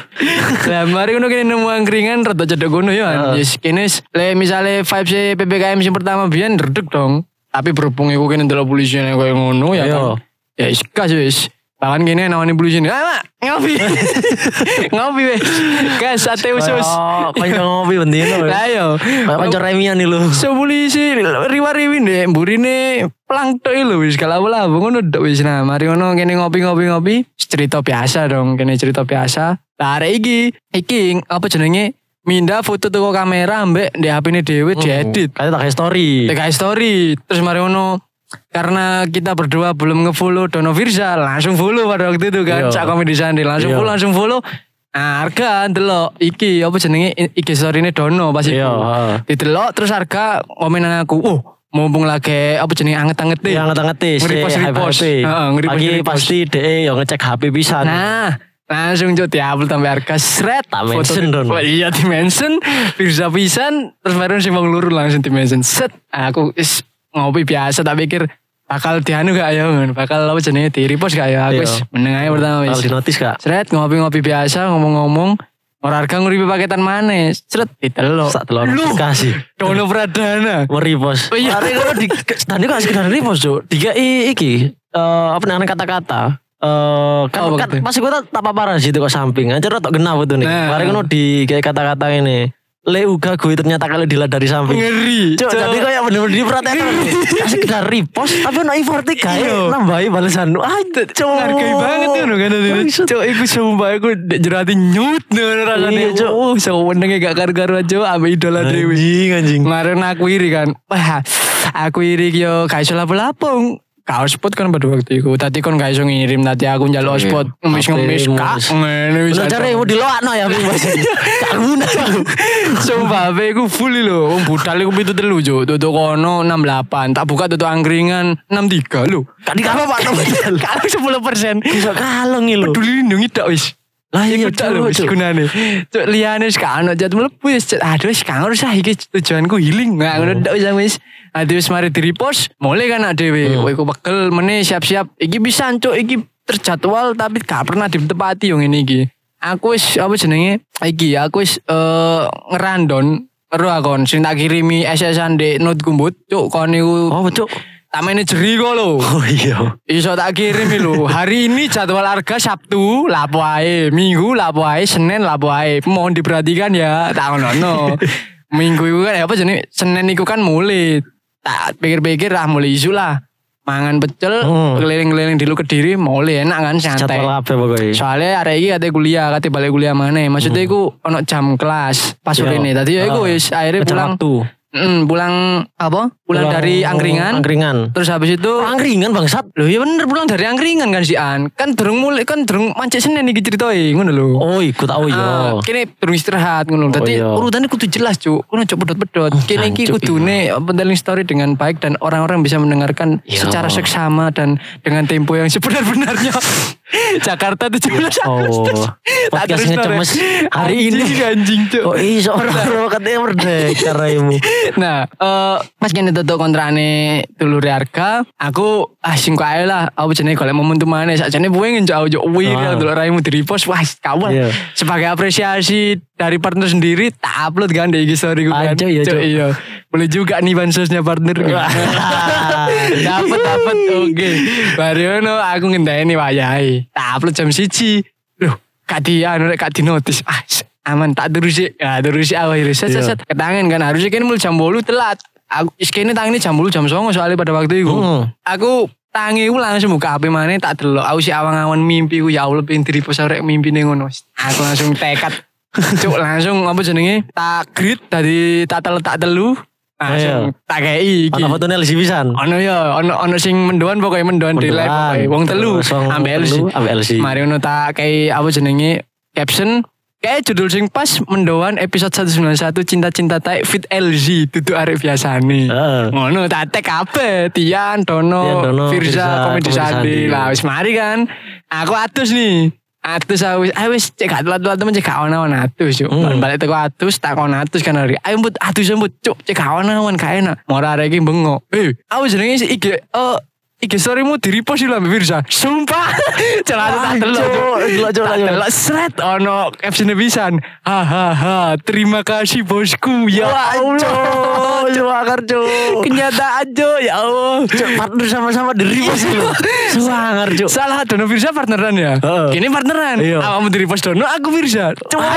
Lah mari ngono kene nemu angkringan rada cedek ngono yo. Yes kene le misale vibes PPKM sing pertama biyen redeg dong. Tapi berhubung iku kene ndelok polisi nek koyo ngono ya kan. Ya iskas wis. Bahkan gini namanya polisi ini, mak ngopi, ngopi wes, gas sate usus. Kanca ngopi bendino. Lah yo, kanca remian nih lu. So polisi riwa-riwi ndek mburine plang tok lho wis kala-kala ngono ndok wis. Nah, mari ngono kene ngopi, cerita biasa dong, kene cerita biasa. Lah arek iki apa jenenge? Minda foto toko kamera ambek ndek HP-ne dhewe diedit. Kayak tak story. Terus mari ngono karena kita berdua belum nge-follow Dono Firza, langsung follow pada waktu itu kan. Cak komedi sandi langsung follow. Nah, harga ndelok iki apa jenenge IG story-ne Dono pas iku. Didelok terus harga komenan aku. Mumpung lagi apa jenenge anget-angete. Ya anget-angete. Nge-repost. Lagi pasti DE yo ngecek HP pisan. Nah, langsung Cuk diupload tambah harga sret. Mention Dono. Iya di-mention Firza pisan terus baru sing wong luru langsung di-mention. Set. Aku ngopi biasa tak pikir bakal dianu gak ya bakal apa jenenge di repost gak ya aku meneng aja pertama wis di notice gak seret ngopi biasa ngomong harga nguripi paketan mana seret ditelok sak telur kasih Dono Pradana repost hari kalau di tadi kok sekedar repost Cuk dikai iki apa namanya kata-kata kan pas gue tak paparan situ kok samping aja rotok genap itu nih hari kalau di kayak kata-kata ini Le uga gue ternyata kalau dilihat dari samping. Ngeri. Cuk, jadi kayak bener-bener diperhatiin. Sekedar repost tapi ono effort kayak nambahi balasan. Ah, cuk. Hargai banget ngono kan ini. Cuk, iku sumpah aku jerati nyut rasane. Cuk. Oh, senenge gak karu-karuan cuk ambek idola dhewe. Anjing. Kemarin aku iri kan. Wah, aku iri yo gak iso lapo-lapo. Kau spot kan pada waktu itu. Tadi kan gak iso ngirim. Tadi aku njaluk spot. Ngemis-ngemis kak. Ngene Udah cari mau diloakno ya Bing Bas. Gak guna. Sumpah HP ku full lho. Wong budal iku 73 Cuk. Tutuk kono 68. Tak buka tutuk angkringan 63 lho. Gak dikapa Pak Nobel. Kalau 10%. Bisa kalong iki lho. Peduli lindungi tak wis. Lah iya tak lho wis gunane. Cuk liyane wis kan ono jat mlebu wis. Aduh wis kan usah iki tujuanku healing. Nah ngono ndak usah wis. Ade wis mari di-repost, mulai kan dhewe. Kowe ku pegel meneh siap-siap. Iki bisa cuk iki terjadwal tapi gak pernah ditepati yo ngene iki. Aku wis apa jenenge? Iki aku wis ngerandon karo akon sing tak kirimi SS-an ndek note kumbut. Cuk kon niku. Oh, cuk. Tak manajeri kok lho. Oh iya. Iso tak kirim lho. Hari ini jadwal harga Sabtu lapo ae, Minggu lapo ae, Senin lapo ae. Mohon diperhatikan ya. Tak ngono. Minggu iku kan apa jenenge? Senin iku kan mulai. Tak pikir-pikir mulai isu lah. Mangan pecel, keliling-keliling di lu Kediri, mulai enak kan santai. Jadwal apa pokoknya. Soalnya hari ini kate kuliah, kate balik kuliah mana. Maksudnya iku ono jam kelas pas sore ini. Tadi ya iku wis akhirnya pulang. Pulang apa? Pulang dari angkringan. Terus habis itu angkringan bangsat. Loh ya bener pulang dari angkringan kan si An. Kan durung mulai kan durung mancik Senin iki ceritoi ngono lho. Oh ikut tahu ya. Kene durung istirahat ngono. Dadi urutannya kudu jelas cuk. Kudu ojo pedot-pedot. Kene iki kudune telling story dengan baik dan orang-orang bisa mendengarkan secara seksama dan dengan tempo yang sebenar-benarnya. Jakarta 17 Agustus. Oh. Podcastnya cemes hari ini anjing cuk. Oh iso ora katanya merdeka raimu. Nah, pas kene tutuk kontrane dulure harga, aku sing kae lah, aku jenenge golek momentum maneh. Sakjane pengen njau wir delok raimu di-repost, wah kawal. Sebagai apresiasi dari partner sendiri, tak upload kan di IG story gue kan. Iya. Boleh juga nih bansosnya partner. Dapat. Oke. Bariono aku ngenteni wayahe. Tak upload jam 1. Loh, gak di notice. Aman tak terusi awal set ketangan kan harusnya kan mulai jam 8 telat. Aku iskene tangine jam 8 jam 9 soalnya pada waktu itu. Aku tangi ku langsung buka HP maneh tak delok. Aku si awang-awan mimpi ku ya Allah pengen di-repost arek mimpine ngono. Aku langsung tekad. Cuk langsung apa jenenge? Tak grid tadi tak telu. Langsung tak kei iki. Ono fotone LC pisan. Ono ya, ono sing mendoan pokoknya mendoan di live pokoke. Wong telu ambek LC. Mari ono tak kei apa jenenge? Caption kayak judul sing pas mendoan episode 191 cinta-cinta taek fit LZ tutu arek biasane. Ngono tak tag kabeh Tian, Dono, Firza, Komedi Sandi. Lah wis mari kan. Aku atus nih. Atus wis cek gak telat-telat temen cek gak ono atus yo. Balik teko atus tak ono atus kan hari. Ayo mbut atus cuk cek gak ono gak enak. Mora arek iki bengok. Aku jenenge IG iki storymu di-repost lho Mbak Firza. Sumpah. Celana tak delok. Sret ono caption pisan. Hahaha, terima kasih bosku. Ya Allah. Suwangar cuk. Kenyataan cuk ya Allah. Cuk partner sama-sama di-repost lho. Suwangar cuk. Salah Dono Firza partneran ya. Kini partneran. Awakmu di-repost Dono, aku Firza.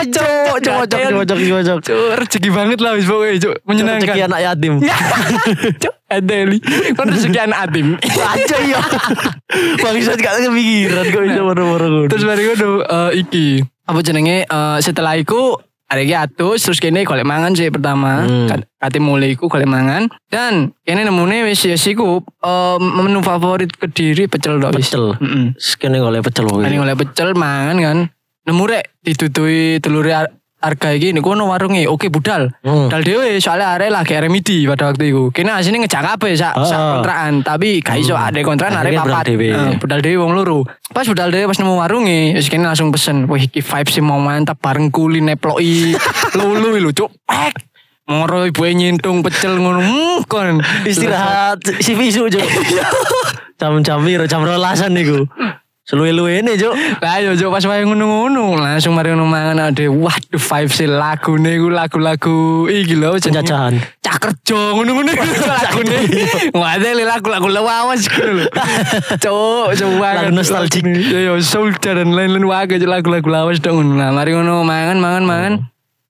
Cocok. Cuk rezeki banget lah wis pokoke cuk. Menyenangkan. Rezeki anak yatim. Cuk Adeli. Kon rezeki anak yatim. Aja ya. Bangsat gak kepikiran kok iso moro-moro. Terus bari ngono iki. Apa jenenge setelah iku arek atus terus kene golek mangan sih pertama. Kate mulai iku golek mangan dan kene nemune wis iku menu favorit Kediri pecel tok wis. Pecel. Kene golek pecel wae. Kene golek pecel mangan kan. Nemu rek ditutui telure harga iki niku ono warunge oke budal. Budal dhewe soalnya arek lagi remedi pada waktu itu. Kene asine ngejak kabeh sak kontrakan tapi gak iso ada kontrakan arek papat. Budal dhewe wong loro. Pas budal dhewe pas nemu warunge wis kene langsung pesen. Wih iki vibes sih mau mantap bareng kuli neploki lulu lho cuk. Moro ibu nyintung pecel ngono kon istirahat si visu cuk. Jam-jam jam 12-an niku. Seluwe-luwene Cuk. Lah yo Cuk pas wae ngono-ngono langsung mari ngono mangan ade. Waduh vibes lagune iku lagu-lagu iki lho penjajahan. Cak kerja ngono-ngono lagune. Wae lagu-lagu lawas gitu lho. Cuk, coba nostalgia. Yo soul dan lain-lain wae lagu-lagu lawas dong ngono. Nah mari ngono mangan.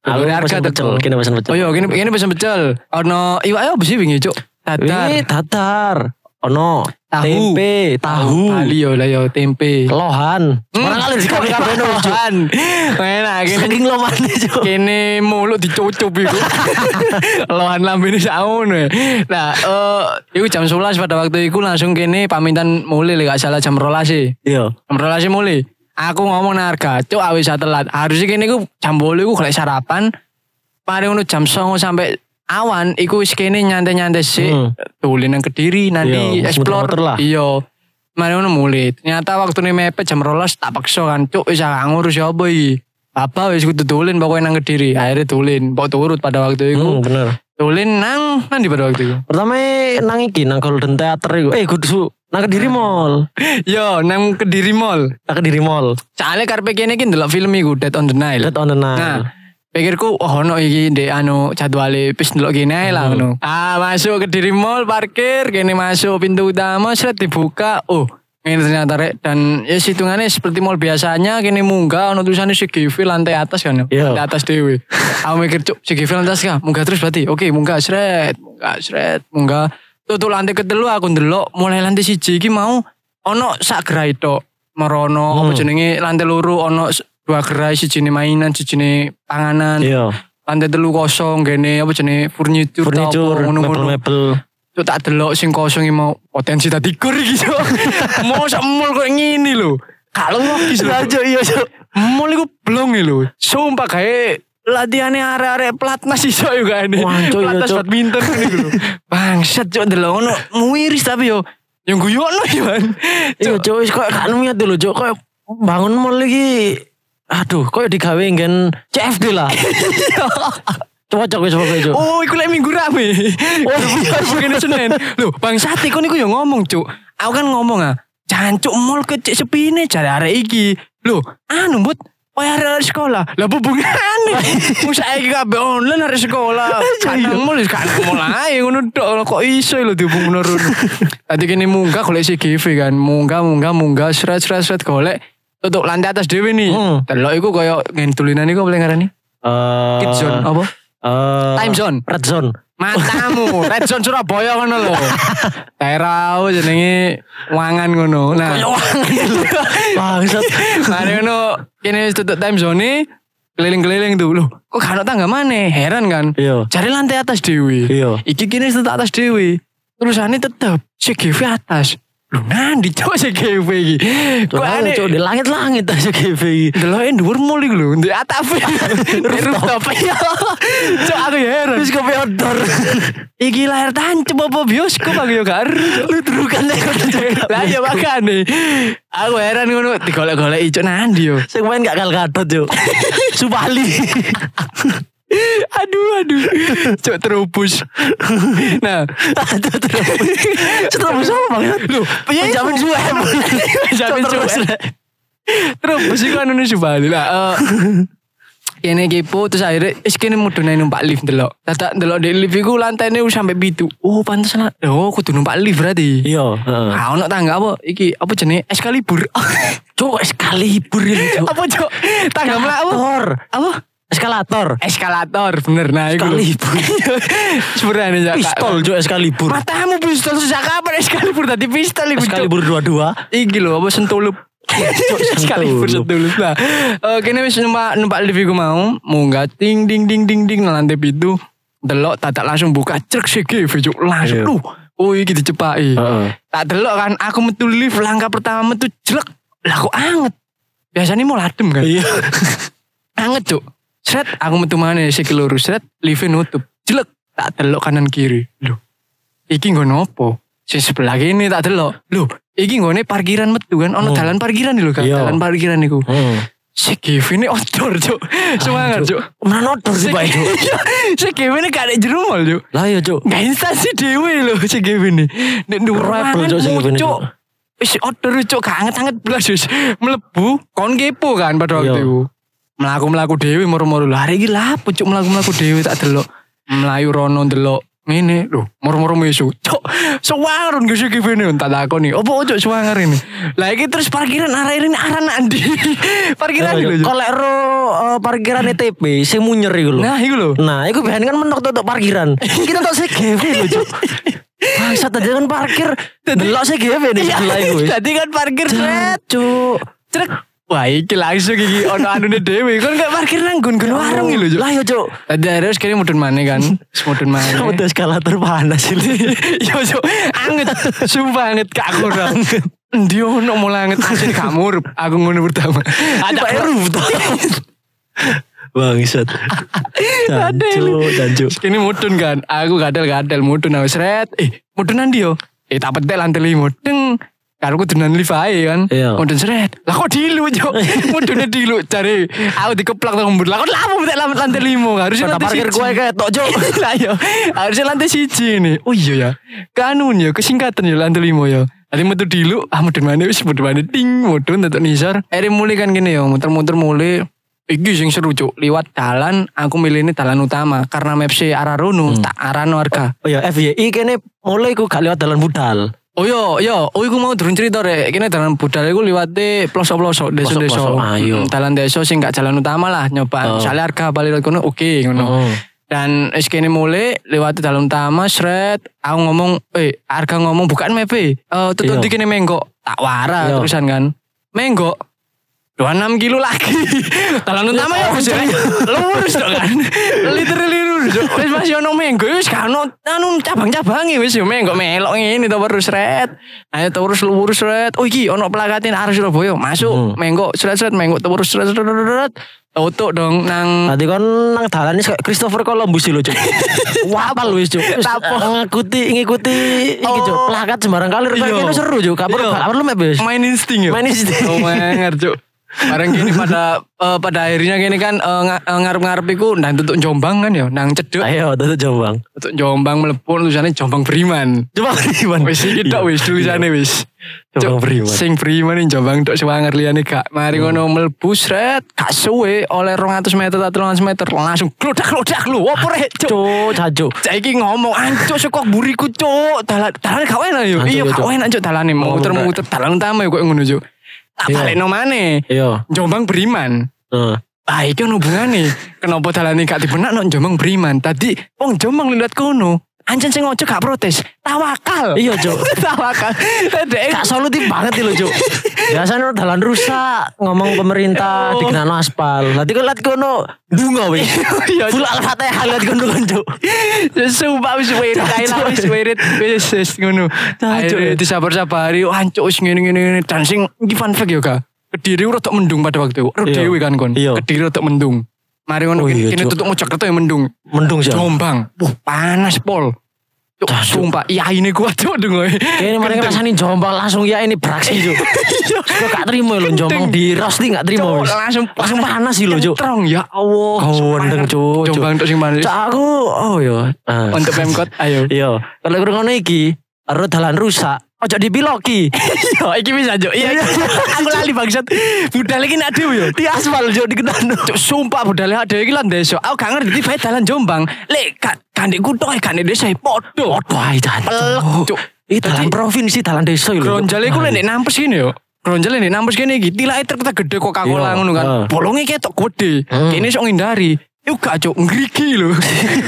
Dulure harga teko. Kene pesen pecel. Oh iya, kene pesen pecel. Ono iwake opo sih wingi, Cuk? Datar. Datar. Ono Tahu. tempe, tahu. Bali yo lah yo tempe. Lohan. Sembarang kali di kabeh Lohan. Enak kene. Saking lomane, Cuk. Kene mulut dicucup iku. Lohan lambene saono. Nah, iku jam 11 pada waktu iku langsung kene pamitan mulai lek gak salah jam 12. Iya. Jam 12 mulai. Aku ngomong nang harga, Cuk awis telat. Harusnya kene iku jam 8 iku golek sarapan. Mari ngono jam 09.00 sampai awan iku wis kene nyantai-nyantai sik. Dolen nang Kediri nanti Iya, explore muter-muter lah. Iya. Mari ngono mulai. Ternyata waktune mepet jam 12 tak paksa kan, Cuk wis gak ngurus ya apa iki. Apa wis kudu dolen pokoknya nang Kediri. Akhirnya dolen, pokok turut pada waktu itu. Bener. Dolen nang di pada waktu itu. Pertama nang iki nang Golden Theater iku. Kudu nang Kediri Mall. Yo, nang Kediri Mall. Nang Kediri Mall. Soale karepe kene iki ndelok film iku Dead on the Nile. Dead on the Nile. Nah, pikirku ono iki ndek jadwale wis ndelok kene ae lah ngono. Masuk Kediri Mall, parkir, kene masuk pintu utama, seret dibuka. Ini ternyata rek dan ya hitungannya seperti mall biasanya kene munggah ono tulisannya CGV lantai atas kan. Lantai atas dewe. Aku mikir cuk CGV lantai atas kah? Munggah terus berarti. Oke, munggah seret. Tutup lantai ketelu aku ndelok mulai lantai 1 iki mau ono sak gerai tok. Merono apa jenenge lantai loro ono 2 gerai sijine mainan, sijine panganan. Iya. Lantai 3 kosong gene apa jenenge furniture mebel. Cuk tak delok sing kosong iki mau potensi tadi kur iki cuk. Mau sak mall kok ngene lho. Kalau logis lho. Cuk iya cuk. Mall iku blong lho. Sumpah gawe latihane arek-arek platnas iso yo gane. Platnas badminton niku lho. Bangsat cuk delok ngono muiris tapi yo yang guyokno yo kan. Iya cuk wis koyo gak niat lho cuk koyo bangun mall iki. Aduh koyo digawe nggen CFD lah. Cocok wis pokoke cuk. Oh, iku lek minggu rame. Bukan Senin. Loh, bangsat iku niku yo ngomong, Cuk. Aku kan ngomong jancuk mall kecik sepine jare arek iki. Loh, mbut koyo arek sekolah. Lah hubungane. Wong saiki kabeh online arek sekolah. Kan mall ae ngono tok kok iso lho dihubung menurun. Tadi kene munggah golek CGV kan. Munggah sret golek tutup lantai atas dhewe nih. Delok iku koyo ngentulinan iku apa ngarani? Kids zone apa? Time zone, red zone. Matamu, red zone Surabaya ngono lho. Daerah jenenge Wangan ngono. Nah, bangsat. Mari ngono kene tutup time zone keliling-keliling tuh. Loh, kok gak ono tangga maneh? Heran kan? Iya. Cari lantai atas dhewe. Iya. Iki kene tutup atas dhewe. Terusane tetep CGV atas. Loh nandi cok CGV iki. Kok aneh cok di langit-langit aja CGV iki. Deloke dhuwur mul iku lho, ndek atap. Rooftop. Cok aku ya heran. Wis kopi outdoor. Iki layar tancep apa bioskop aku yo gak ero. Lu terukan nek lah ya makane. Aku heran ngono digolek-golek cok nandi yo. Sing main gak Gal Gadot cok. Supali. Aduh cok terubus. Nah terubus apa banget lu penjamin suem terubus iku anu Subali lah kene kepo terus akhirnya kene mudune numpak lift delok dadak delok di lift iku lantainya sampai 7. Oh pantes lah kudu numpak lift berarti iya ono tangga apa iki apa jenenge Excalibur cok Excalibur apa cok tangga mlaku apa Eskalator bener. Nah iku sebenarnya ya pistol juga Excalibur. Matamu pistol sejak kapan Excalibur tadi pistol iku Excalibur 22 iki lho apa sentulup Excalibur sentulup lah. Kene wis numpak lift iku mau munggah ding nang lantai 7 delok tak langsung buka truk CGV langsung iki dicepaki tak delok kan aku metu lift langkah pertama metu jelek lah kok anget biasanya mau adem kan iya anget cuk. Sret, aku metu maneh sik lurus sret, lift nutup. Jelek, tak delok kanan kiri. Loh. Iki nggon opo? Sing sebelah kene tak delok. Loh, iki nggone parkiran metu kan, ono dalan parkiran lho kan, dalan parkiran niku. CGV ini outdoor, Cuk. Semangat, Cuk. Mana outdoor sih, Pak, Cuk? CGV ini gak ada jero mall, Cuk. Lah ya, Cuk. Gak instansi dhewe lho CGV ini. Nek dhuwur Cuk. Wis outdoor, Cuk, gak anget-anget blas wis. Mlebu kon kepo kan pada waktu itu. Melaku dewi moro-moro lah hari iki lah pucuk melaku dewi tak delok melayu rono delok Ngene lho, moro-moro mesu. Cok, suwangaron gak sih kene tak takoni. Opo cok suwangar ini? Lah iki terus parkiran arah ini arah nandi. Parkiran iki lho. Kok lek ro parkiran ETP sing munyer iku lho. Nah, iku lho. Nah, iku biasanya kan mentok tutup parkiran. Kita tok CGV lho, Cuk. Bangsat tadi kan parkir delok CGV nih sebelah iku. Tadi kan parkir sret, Cuk. Trek. Wah, iki langsung iki ono anune dhewe. Kon gak parkir nang nggon warung iki lho, Cuk. Lah yo, Cuk. Tadi harus kene mudun maneh kan. Mudun maneh. Udah eskalator panas ini. Yo Cuk, anget. Sumpah anget gak kurang. Endi ono mulai anget asin gak murup. Aku ngono pertama. Ada rooftop. Bangsat. Jancu. Kini mudun kan. Aku gadel mudun aku sret. Mudun nanti yo. Tak petek lantai 5. Deng. Karo aku dunan lift ae kan. Mudun sret. Lah kok dilu yo. Mudune dilu cari. Aku dikeplak nang mbur. Lah kok lapo petek lantai 5. Harusnya lantai parkir gue kayak tok Cuk. Lah yo. Harusnya lantai 1 ini. Oh iya ya. Kanun ya kesingkatan ya lantai 5 ya. Tadi metu dilu. Mudun mana wis mudun mana ting. Mudun tetok nisor. Ere mulai kan gini yo. Muter-muter mulai. Iki sing seru Cuk, liwat dalan aku milih ini dalan utama karena mapse arah rono tak arano warga. Oh ya FYI kene mulai ku gak lewat dalan budal. Oh iya, iku mau durung cerita rek. Kene dalan budal iku liwate pelosok-pelosok desa-desa. Dalan desa sing gak jalan utama lah nyoba. Soale harga balik kono oke ngono. Dan es kene mulai lewat dalan utama sret aku ngomong, harga ngomong bukan mepe. Tutup di kene menggok. Tak wara terusan kan. Menggok 26 kilo lagi. Dalan utama ya wis lurus dong kan. Literally lurus. Wis masih ono menggo wis kan ono cabang-cabange wis yo menggo melok ngene to terus sret. Ayo terus lurus sret. Oh iki ono plakatin arah Surabaya. Masuk menggo sret-sret menggo terus sret. Tutuk dong nang. Tadi kan nang dalan kayak Christopher Columbus lho, Cuk. Wapal wis, Cuk. Ngikuti iki, Cuk. Plakat sembarang kali kene seru, Cuk. Gak perlu map wis. Main insting yo. Oh, menger, Cuk. Bareng gini pada akhirnya gini kan ngarep-ngarep iku nang tutuk Jombang kan ya, nang Cedek. Ayo tutuk Jombang. Tutuk Jombang mlebu tulisannya Jombang Beriman. Jombang Beriman. Wis iki tok wis tulisane wis. Jombang Beriman. Sing Beriman ning Jombang tok sewanger liyane gak. Mari ngono mlebu sret, gak suwe oleh 200 meter atau 300 meter langsung glodak lho. Opo rek, Cuk. Jancuk. Saiki ngomong ancuk saka buriku, Cuk. Dalane gak enak yo. Iya gak enak, Cuk, dalane muter-muter dalan utama yo kok ngono, Cuk. Tak balik no maneh. Jombang Beriman. Iki ono hubungane. Kenapa dalane gak dibenak no Jombang Beriman? Tadi wong Jombang liwat kono. Anjen sing ojo gak protes. Tawakal. Iya, Cuk. Tawakal. Gak solutif banget lho, Cuk. Biasanya dalan rusak, ngomong pemerintah dikenal aspal. Nanti kan lihat kono bunga wis. Full Al-Fatihah lihat kono kan, Cuk. Sumpah wis wirid kae lah wis wirid wis ngono. Ayo disabar-sabari ancuk wis ngene-ngene dan sing iki fun fact yo Kak. Kediri rodok mendung pada waktu itu. Dhewe kan kon. Kediri rodok mendung. Mari ngono kene tutuk Mojokerto ya mendung. Mendung sih. Jombang. Panas pol. Cuk, sumpah iya ini kuat Cuk dengoe. Kene mari ngrasani Jombang langsung ya ini beraksi Cuk. Kok gak terima lho Jombang di roasting gak terima wis. Langsung panas sih lho Cuk. Terong ya Allah. Wendeng Cuk. Jombang tok sing panas. Cuk aku yo. Untuk Pemkot ayo. Iya. Kalau ngono iki aro dalan rusak. Ojo dipiloki. Yo iki bisa Cuk. Iya. Aku lali bangsat. Budal iki nak dhewe yo. Di aspal Cuk dikendano. Cuk sumpah budal dhewe iki lan desa. Aku gak ngerti bae dalan Jombang. Lek gandek kutok gandek desa padha. Wae Cuk. Iki dalan provinsi dalan desa lho. Gronjal iku lek nampes kene yo. Gronjal nek nampes kene iki tilake truk gede Coca-Cola ngono kan. Bolonge ketok gede. Kene sok ngindari. Iku gak Cuk ngriki lho.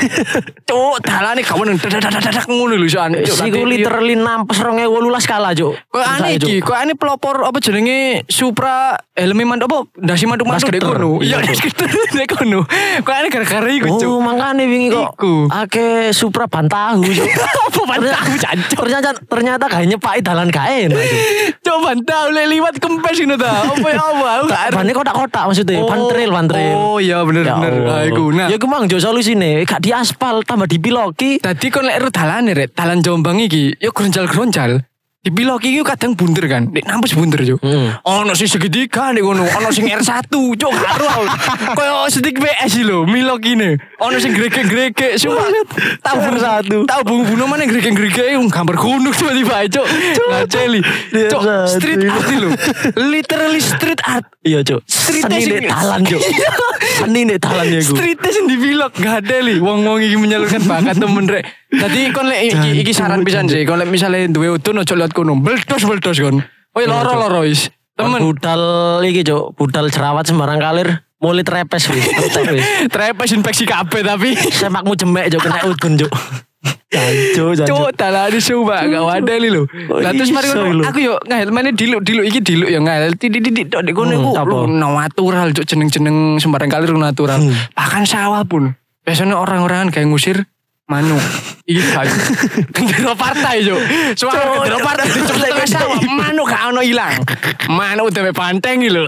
Cuk dalane gak meneng dadak ngono lho soan. Iku literally nampes 2018 kala Cuk. Kok aneh iki, kok aneh pelopor apa jenenge Supra helme mantuk apa ndasi mantuk-mantuk dek kono. Iya dek kono. Kok aneh gara-gara iku Cuk. Oh makane wingi kok akeh Supra bantahu Cuk. Apa bantahu jancuk. Ternyata gak nyepaki dalan gak enak Cuk. Cuk bantahu lek liwat kempes ngono ta. Apa ya apa? Bane kotak-kotak maksudnya, bantril. Oh iya bener. Iku. Nah, ya ku mang jo solusine gak di aspal tambah dipiloki. Dadi kon lek dalane rek, dalan Jombang iki yo gronjal-gronjal. Dipilok iki kadang bunder kan. Nek nampes bunder yo. Ono sing segitiga nek ngono, ono sing R1, cuk karo. Kayak stick PS lho, milok ini. Ono sing gregek-gregek, sumpah. Tahu R1. Tahu bunga-bunga mana gregek-gregek gambar gunung tiba-tiba, cuk. Ngaceli. Cuk, street art lho. Literally street art. Iya, Cuk. Seni nek dalan, Cuk. Seni nek dalan ya iku. Street sing dipilok gak ada li. Wong-wong iki menyalurkan bakat temen rek. Tadi kon lek iki saran pisan sih. Kon lek misale duwe udun ojo lihat kono. Beldos kon. Oi loro wis. Temen budal iki, Cuk. Budal jerawat sembarang kalir. Mulai trepes wis. Trepes infeksi kabeh tapi sepakmu jemek, Cuk, kena udun, Cuk. Jancu. Cuk, dalane sumpah gak wadeli lho. Lah terus mari aku yo ngahel meneh diluk iki diluk yo ngahel titik-titik tok kono iku natural, Cuk, jeneng-jeneng sembarang kalir natural. Bahkan sawah pun. Biasanya orang-orang kayak ngusir manuk. Iki kayu. Gendera partai, Cuk. Soale gendera partai dicepet sawah, manuk gak ono ilang. Manuk udah panteng iki lho.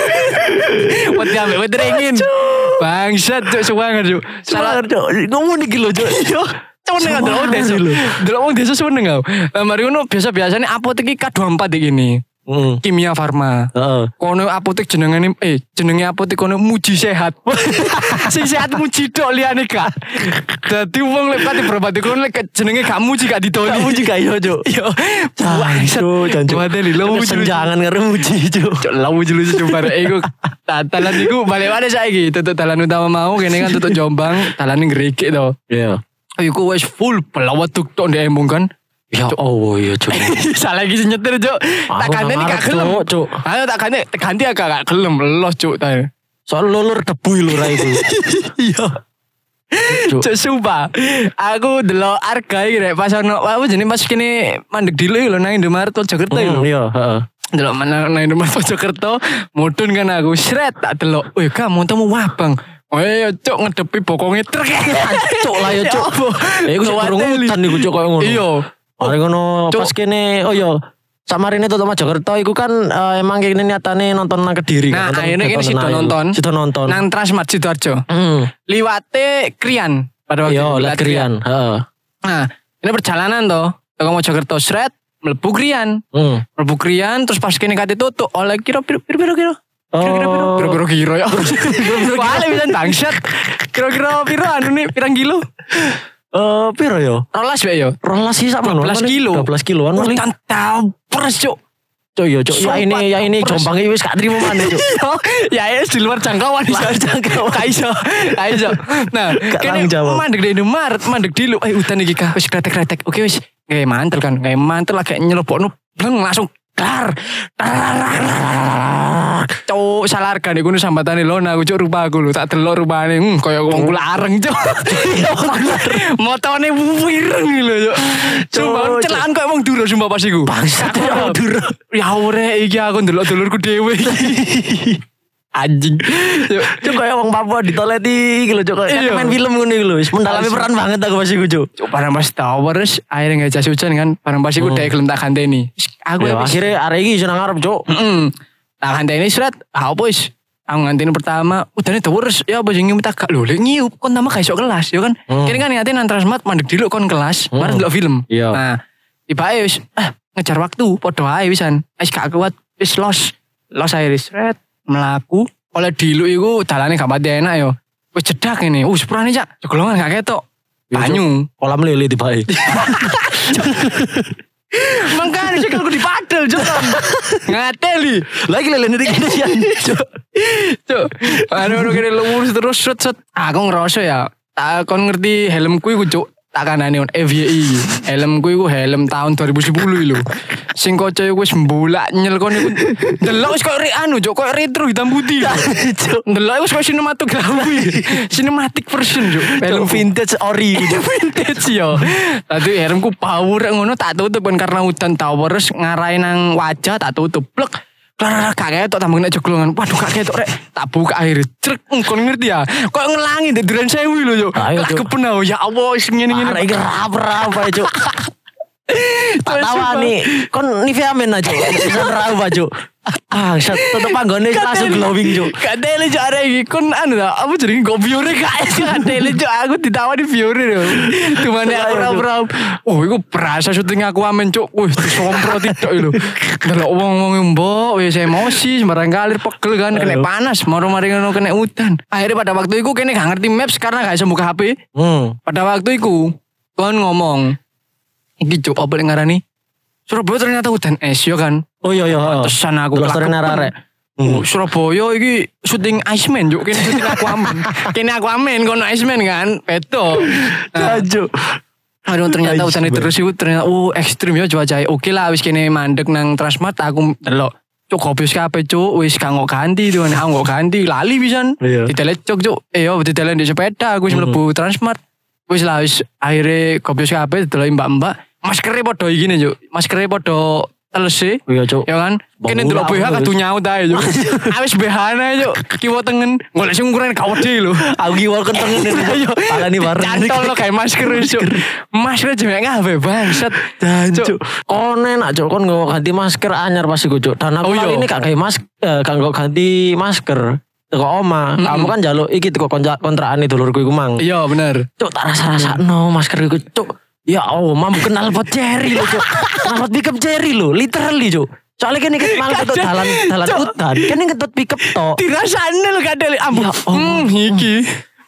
Wedi ambek wedi ringin. Bangsat, Cuk, suwangan, Cuk. Salah, Cuk. Ngomong iki lho, Cuk. Seneng delok desa lho. Delok wong desa seneng aku. Mari ngono biasa-biasane apotek iki K24 iki ngene. Kimia Farma. Kono apotek jenenge apotek kono muji sehat. Sing sehat muji tok liyane gak. Dadi wong lek pati berobat kono lek jenenge gak muji gak ditoni. Gak muji gak yo, Cuk. Yo. Jancu. Wadeli lo muji jangan karo muji, Cuk. Cuk lo muji coba iku. Dalan iku balik mana saiki? Tutuk dalan utama mau kene kan tutuk Jombang, dalane Gregek to. Iya. Iku wis full pelawat tuk-tuk ndek embung kan. Ya Allah ya, Cuk. Salah lagi sing nyetir, Cuk. Tak kandani gak gelem, Cuk. Ayo tak ganti agak gak gelem los, Cuk. Soal lulur debu lho ra iku. Iya. Cuk sumpah. Aku delok harga iki rek pas ono apa jenenge pas kene mandek dulu lho nang Indomaret Mojokerto lho. Iya, heeh. Delok nang Indomaret Mojokerto, mudun kan aku sret tak delok. Wih, kamu temu wabang. Oh iya, Cuk, ngedepi bokonge truk. Cuk lah ya, Cuk. Iku durung udan iku, Cuk, koyo ngono. Iya. Mari ngono pas kene samarine tutup Mojokerto iku kan emang kene niatane nonton nang Kediri. Nah, akhirnya kene sido nonton. Nang Transmart Sidoarjo. Liwate Krian pada waktu itu. Iya, Krian, heeh. Nah, ini perjalanan toh. Teko Mojokerto sret mlebu Krian. Mlebu Krian terus pas kene kate tutuk oleh kira. Kira-kira ya. Wale bisa bangsat. Kira-kira piro anu nih pirang kilo? Piro yo? 12 wae yo. 12 sih sama 12 kilo. 12 kiloan paling. Tantapres, Cuk. Cuk yo, Cuk. Ya ini Jombang iki wis gak trimo maneh, Cuk. Ya di luar jangkauan. Kaiso. Nah, kene mandek di Indomaret, mandek dilu. Udan iki kah wis kretek-kretek. Oke wis. Kayak mantel kan. Kayak mantel lagi nyelobokno bleng langsung dar. Cuk salah harga nih kuno sambatane lona aku cuk rupa aku lho tak delok rupane kaya wong kula areng cuk. Motone wireng lho cuk. Sumpah celaan kaya wong duro sumpah pas iku. Bangsat wong duro. Ya ore iki aku ndelok dulurku dhewe iki. Anjing. Cuk kaya wong Papua ditoleti iki lho cuk kaya main film ngono iki lho. Wis mendalami peran banget aku pas iku cuk. Cuk barang pas towers akhirnya gak jas hujan kan barang pas iku dhek gelem tak ganteni. Aku akhirnya arek iki iso nang ngarep cuk. Tak nganteni surat, apa wis? Aku nganteni pertama, udane terus ya apa sing tak gak lho, nyiup kon tambah gak iso kelas ya kan. Kene kan nganteni nang Transmart mandek dulu kon kelas, mari ndelok film. Nah, tiba wis ngejar waktu, padha ae wisan. Wis gak kuat, wis los ae sret mlaku. Oleh diluk iku dalane gak pati enak yo. Wis jedak ngene. Sepurane Cak, jogolongan gak ketok. Banyu, kolam lele tibae. Mangkane sik aku dipadel Jon. Ngateli. Lagi lelene iki Cuk. Anu kene lurus terus set. Aku ngerasa ya. Kon ngerti helmku iku Cuk. Tak kanane on FYI. Helmku iku helm tahun 2010 lho. Sing kaca iku wis mbulak nyel kon iku. Delok wis koyo anu Cuk, koyo retro hitam putih. Delok wis koyo sinematografi. Cinematic version Cuk. Helm vintage ori. Vintage yo. Tadi helmku power ngono tak tutup kan karena udan towers ngarai nang wajah tak tutup. Blek. Klar gak ketok tambah nek jogolongan. Waduh gak ketok rek. Tak buka akhir. Trek kon ngerti ya. Kok ngelangi ndek Duren Sewu lho yo. Lah kepenau ya Allah sing ngene-ngene. Arek iki rap-rap ae Cuk. Tak tawani kon Nivea Men aja. Bisa nerau Cuk. Set tetep panggone langsung glowing Cuk. Gak tele Cuk arek iki kon anu ta, apa jenenge go biore gak tele Cuk aku ditawani biore lho. Tumane aku ora. Oh iku berasa syuting aku amen Cuk. Wih disompro tidak lho. Delok wong-wong mbok wis emosi sembarang kalir pegel kan kena panas, mari ngono kena udan. Akhirnya pada waktu itu kene gak ngerti maps karena gak iso buka HP. Pada waktu itu kon ngomong iki Cuk apa ngarani Surabaya ternyata udan es ya kan. Oh iya. Tesan aku Gloster arek. Surabaya iki syuting Iceman Cuk, kene syuting Aquaman. Kene Aquaman kono Iceman kan, beto. Cuk. Aduh ternyata udan terus itu ternyata ekstrim ya cuaca. Oke lah wis kene mandek nang Transmart aku delok. Cuk kopius kabeh Cuk, wis gak ngok ganti tuh aku ngok ganti lali pisan. Ditelet Cuk. Yo ditelet di sepeda aku wis mlebu Transmart. Wis lah wis akhire kopius kabeh delok mbak-mbak. Maskere padha iki ne Cuk. Maskere padha telese. Iya Cuk. Ya kan? Kene delok BH kadu nyaut ae Cuk. Awis BH-ne Cuk. Kiwa tengen. Golek sing ukuran gak wedi lho. Aku kiwa tengen iki. Palani bareng. Cantol lo kayak masker Cuk. Masker jemek kabeh bangsat. Cuk. Kon enak Cuk kon nggo ganti masker anyar pas iku Cuk. Dan aku kali ini gak nggo ganti masker. Teko oma, kamu kan jaluk iki teko kontrakan dulurku iku mang. Iya bener. Cuk tak rasa-rasakno masker iku Cuk. Ya Allah, mam kenal pot cherry lho Cuk. Kenal pickup cherry lho, literally Cuk. Soalnya kan malah ketut dalan hutan, kan ketut pickup tok. Dirasane lho kadel ambu. Iki.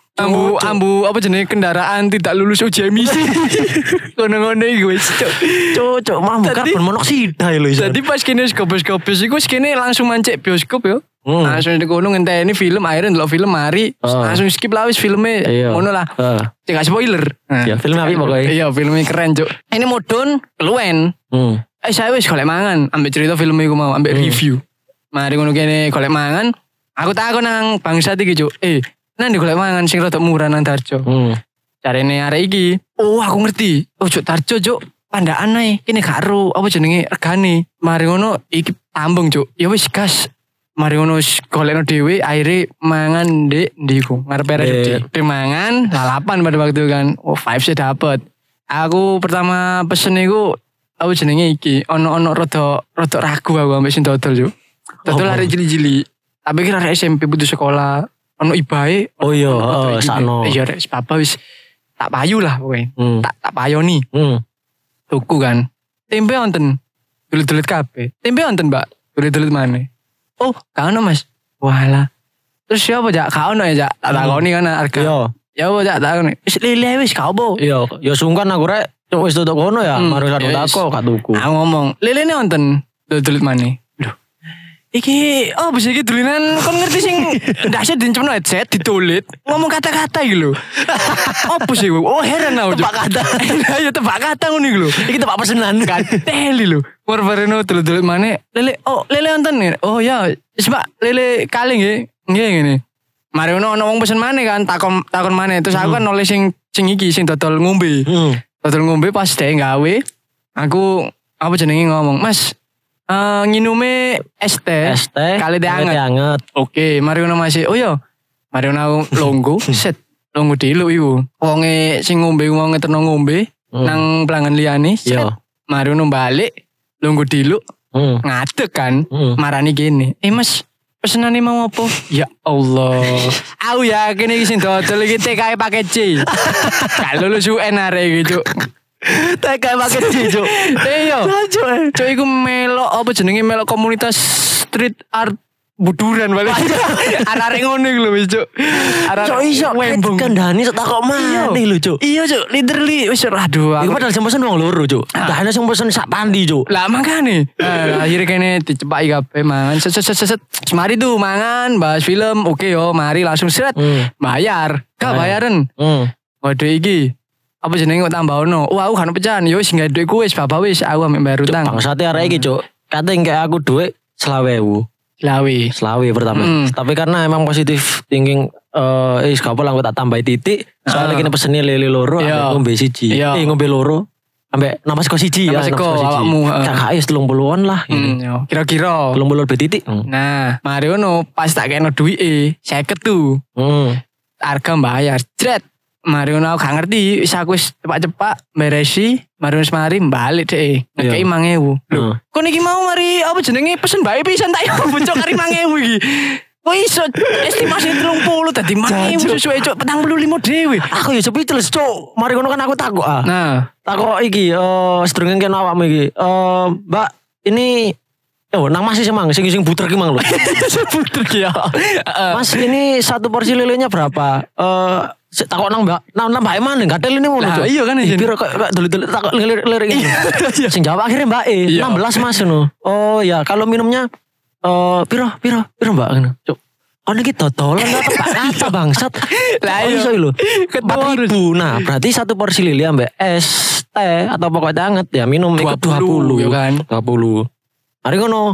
Ambu apa jenenge kendaraan tidak lulus uji emisi. Ngono-ngono iki wis Cuk, mam karbon monoksida lho iso. Jadi pas kene skop-skop iku kene langsung mancek bioskop yo. Langsung di kono ngenteni film akhirnya ndelok film mari langsung skip lah wis filmnya ngono lah. Cek spoiler. Ya film apik pokoke. Iya filmnya keren Cuk. Ini modon keluwen. Saya wis golek mangan ambek cerita film iku mau ambek review. Mari ngono kene golek mangan. Aku takon nang bangsat iki Cuk. Nang di golek mangan sing rada murah nang Darjo. Carane arek iki. Oh aku ngerti. Oh Cuk Darjo Cuk. Pandaan ae kene gak ero apa jenenge regane. Mari ngono iki tambung Cuk. Ya wis gas. Mari ngono golekno dhewe akhire mangan ndek ndiku ngarep di mangan lalapan pada waktu itu kan. Vibes dapet. Aku pertama pesen iku apa jenenge iki ono rada ragu aku ambek sing dodol Cuk. Dodol arek cilik-cilik. Tapi kira arek SMP putus sekolah ono ibae. Oh iya, sakno. Iya rek papa wis tak payu lah kowe. Tak payoni. Tuku kan. Tempe wonten. Dulit-dulit kabeh. Tempe wonten, Mbak. Dulit-dulit maneh. Oh, gak ono Mas. Walah. Terus siapa Jak? Gak ono ya Jak. Tak takoni kan harga. Iya. Ya apa Jak takoni. Wis lele wis gak opo. Iya, ya sungkan aku rek wis tutuk kono ya, mari karo tako gak tuku. Aku ngomong, lelene wonten. Dulit maneh. Lho. Iki bisa iki dulinan kon ngerti sing ndase dincemno headset ditulit ngomong kata-kata iki lho. Apa sih? Oh heran aku. Tebak kata. Ya tebak kata ngono iki lho. Iki tebak pesenan. Kateli lho. Warbareno dulit maneh. Lele wonten. Oh ya, wis Pak, lele kaling nggih. Nggih ngene. Mari ono wong pesen maneh kan takon maneh terus aku kan nulis sing iki sing dodol ngombe. Dodol ngombe pas dhek gawe aku apa jenenge ngomong, "Mas, nginume es teh kali teh anget. Oke, mari ngono Mas. Oh iya. Mari ngono longgo, set. Longgo dulu iku. Wonge sing ngombe wong ngeterno ngombe nang pelanggan liyane. Mari ngono balik longgo dulu. Ngadeg kan. Marani gini. Mas, pesenane mau apa? Ya Allah. Aku yakin iki sing dodol iki TKI pakai C. Gak lulus UN arek iki, Cuk. TKI pakai C, Cuk. Iya. Cuk iku melok apa jenenge melok komunitas street art buduran balik. Arek ngono iku lho wis, Cuk. Cuk iso kandhani sok takok maneh lho, Cuk. Iya, Cuk. Literally wis aduh. Iku padahal sing pesen wong loro, Cuk. Lah ana sing pesen sak pandi, Cuk. Lah makane. Akhirnya kene dicepaki kabeh mangan. Set. Mari tuh mangan, bahas film. Oke yo, mari langsung seret. Bayar. Gak bayaran. Waduh iki. Apa jenenge kok tambahono? Wah, aku kan pecahan. Yo wis gak duit ku wis bapak wis aku ambek bayar utang. Bangsate arek iki, Cuk. Kate ngek aku duit 20.000. Selawi pertama. Tapi karena emang positif thinking gak apa-apa aku tak tambahi titik. Soalnya kini pesennya lele loro ambek ngombe siji. Ngombe loro ambek nama seko siji ya. Awakmu. Kakak 30-an lah. Kira-kira 30 titik. Nah, mari ngono pas tak kena duwike 50 tuh. Harga bayar. Jret. Mari ngono aku gak ngerti, aku wis cepak-cepak beresi, mari wis mari balik deh. Ngekei 5.000. Lho, kon iki mau mari apa jenenge pesen bae pisan tak yo bocok kari 5.000 iki. Kok iso estimasi 30 dadi 5.000 sesuai cuk 45 dhewe. Aku ya cepet cuk. Mari ngono kan aku takok Nah, takok iki sedurunge kene awakmu iki. Mbak, ini nang Mas sih mang, sing buter ki mang lho. Buter ki ya. Mas, ini satu porsi lelenya berapa? Takok nang Mbak, nang Mbak Eman gatel ini ngono. Nah, iya kan ya. Piro kok dulu takok lirik ini. Sing jawab akhirnya Mbak 16 Mas ngono. Oh ya, kalau minumnya piro Mbak ngono. Cuk. Ono iki dodolan Pak kata bangsat. Lah iso lho. 4.000. Nah, berarti satu porsi lili ambek es teh atau pokoknya anget ya minum ikut 20 ya kan. 20. Hari ngono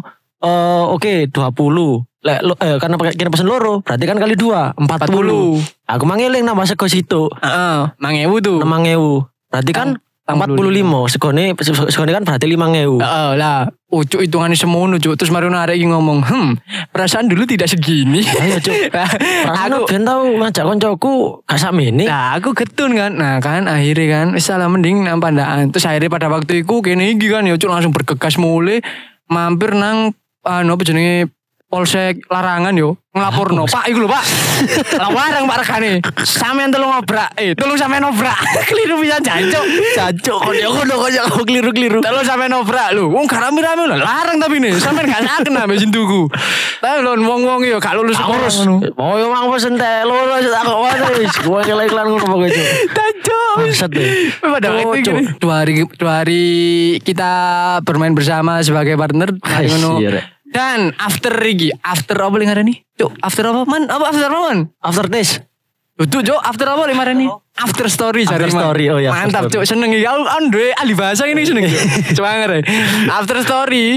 oke 20. Lek karena kira pesen loro, berarti kan kali 2, 40. Aku mangeling nambah sego situ. Heeh, 5.000 tuh. 6.000. Berarti kan 45. Segone kan berarti 5.000. Heeh lah. Ucuk hitungannya semono cuk. Terus Mario arek iki ngomong, perasaan dulu tidak segini. Ayo cuk. Aku ben tau ngajak koncoku gak sakmene. Nah, aku getun kan. Nah, kan akhirnya kan wis salah mending nang pandaan. Terus akhirnya pada waktu itu kene iki kan ya cuk langsung bergegas mulai mampir nang apa jenenge Polsek Larangan yo nglaporno. Pak iku lho Pak. Lawarang Pak regane. Sampeyan tolong obrak. Tolong sampeyan obrak. Keliru pisan jancuk. Jancuk kok keliru-keliru. Tolong sampeyan obrak lho. Wong gak rame-rame lho. Larang tapi nih. Sampeyan gak saken ambek sintuku. Tapi lho wong-wong yo gak lulus sekolah ngono. Oh yo mang pesen teh lulus tak kok wis. Gua nyela iklan ngono pokoke cuk. Jancuk. Bangsat deh. Pada waktu itu 2 hari kita bermain bersama sebagai partner kayak ngono. Dan after apa li ngarani? Cuk, after apa man? Apa after apa man? After this. Tuh Cuk, after apa li ngarani? After story cari story. Oh ya. Mantap Cuk, seneng iki. Aku duwe ahli bahasa ini seneng Cuk. Coba ngare. After story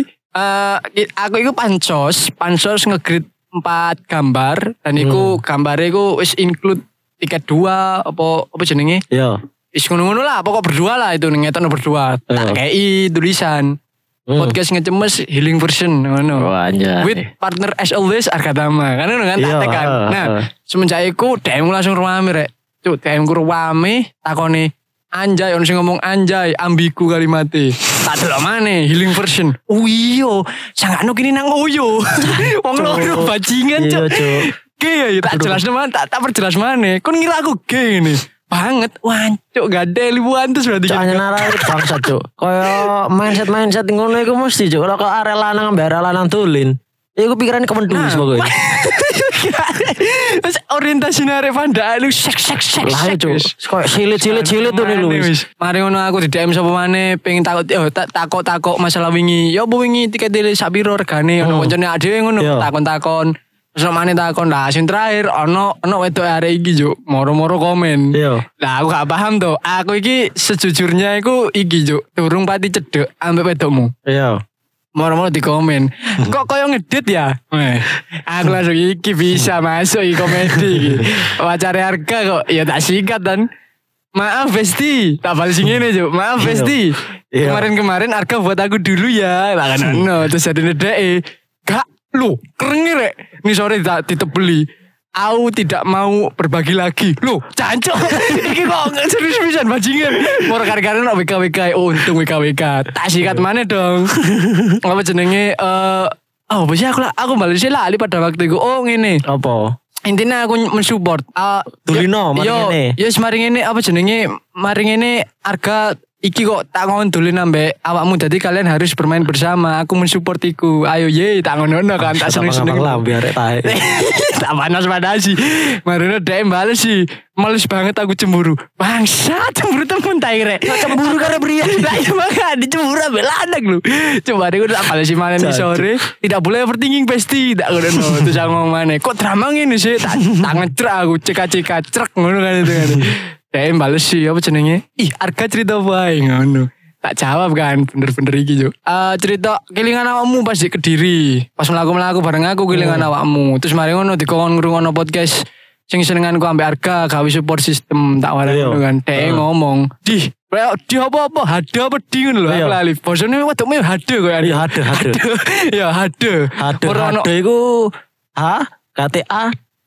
aku iku pansos nge-grade 4 gambar dan iku gambare iku wis include tiket 2 apa jenenge? Iya. Wis ngono-ngono lah, pokok berdua lah itu ngetokno berdua. Tak kei tulisan. Podcast ngecemes healing version ngono. With partner as always Argatama. Kan ngono kan tak tekan. Nah, semenjak iku DM langsung rame rek. Cuk, DM ku rame takone anjay ono sing ngomong anjay ambigu kalimate. Tak delok maneh healing version. Oh iya, sangakno kini nang oyo. Wong loro bajingan cuk. Oke, tak jelas man, tak perjelas maneh. Kon ngira aku gay ngene. Banget wancuk gak ada libuan terus berarti jangan nara bangsa cuk kaya mindset ngono iku mesti cuk kalau arek lanang ambek arek lanang dolin iku pikirannya kemendus pokoknya terus orientasi arek pandaan lu sek lah cuk kaya silit tuh lu mari ngono aku di DM sapa maneh pengen takok masalah wingi ya opo wingi tiket dele sak piro regane ono koncone dhewe ngono takon terus mana takon lah sing terakhir ono wedok arek iki juk moro-moro komen. Lah aku gak paham tuh. Aku iki sejujurnya iku iki juk durung pati cedek ambek wedokmu. Iya. Moro-moro di komen. Kok koyo ngedit ya? Aku langsung iki bisa masuk iki komedi iki. Wacare harga kok ya tak sikat dan maaf Besti. Tak balas ngene juk. Maaf Besti. Kemarin harga buat aku dulu ya. Lah kan ono terus ada ndeke. Gak loh, keren rek. Ini sore ditebeli. Aku tidak mau berbagi lagi. Loh, cancok. Ini kok serius pisan bajingan. Mau kare-kare nak WKWK. Oh, untung WKWK. Tak sikat mana dong. Apa jenenge apa sih aku balasnya lali pada waktu itu. Oh, ngene. Apa? Intinya aku mensupport. Tulino mari ngene. Yes, mari ngene apa jenenge? Mari ngene harga iki kok tak ngondolin ambek awakmu jadi kalian harus bermain bersama. Aku mensupport iku. Ayo ye tak ngono kan tak seneng-seneng lah biar tae. Tak panas sih. Marino DM bales sih. Males banget aku cemburu. Bangsa cemburu temen tae rek. Cemburu karena pria. Lah iya makanya cemburu ambek lanang lho. Coba deh tak bales sih malam di sore. Tidak boleh overthinking Besti. Tak ngono. Terus aku ngomong maneh. Kok drama ngene sih? Tak ngecrek aku cek trek ngono kan itu kan. DM bales sih apa jenenge? Ih, harga cerita bae ngono. Tak jawab kan, bener-bener iki yo. Cerita kelingan awakmu pas di Kediri. Pas mlaku-mlaku bareng aku kelingan awakmu. Terus mari ngono dikon ngrungokno podcast sing senenganku ambek harga gawe support system tak warani kan. Dhek ngomong, "Di apa-apa hade apa di ngono lho." Aku lali. Bosone wedokmu hade kok ya. Hade. Ya hade. Hade iku KTA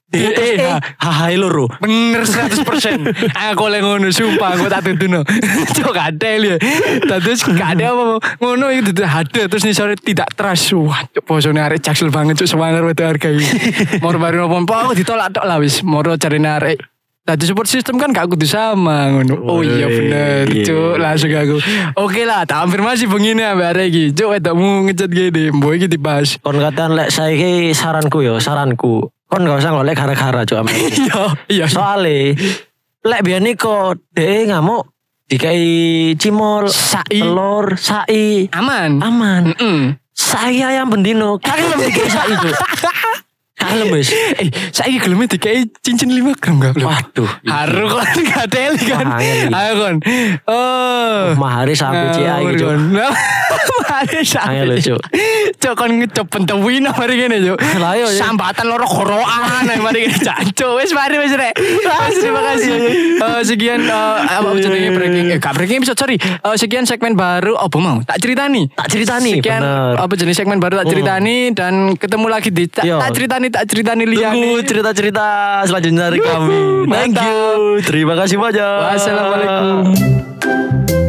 Hai loro. Bener 100%. Aku oleh ngono sumpah aku tak tuntuno. Cok kadel ya. Terus gak ada apa ngono itu ada terus nih sore tidak trust. Wah, cok bosone arek jaksel banget cok sewanger wedo harga iki. Moro baru apa ditolak tok lah wis. Moro carine arek. Tadi support system kan gak kudu sama ngono. Oh iya bener cok langsung aku. Oke lah tak konfirmasi begini ambek arek iki. Cok wedokmu ngechat gini. Mbok iki dibahas. Kon katakan lek saiki saranku. Kon gak usah ngolek gara-gara cok ame. Iya. Soale lek biyen iku dhek ngamuk dikai cimol, telur, sai. Aman. Saya yang bendino. Kagak lebih dikai sai cok. Kalem wis. Saiki geleme dikai cincin 5 gram gak? Waduh. Haru kon gadel kan. Ayo kon. Oh. Mahari sampe CA iki cok. Mahari sampe. Ayo cok. Cok kon ngecop pentewin mari kene cok. Lah yo sambatan loro gorokan mari kene jancuk. Wis mari wis rek. Terima kasih. Sekian apa jenenge breaking gak breaking episode sorry. Sekian segmen baru apa mau? Tak ceritani. Sekian apa jenis segmen baru tak ceritani dan ketemu lagi di tak ceritani liane. Tunggu cerita-cerita selanjutnya dari kami. Thank you. Terima kasih banyak. Wassalamualaikum.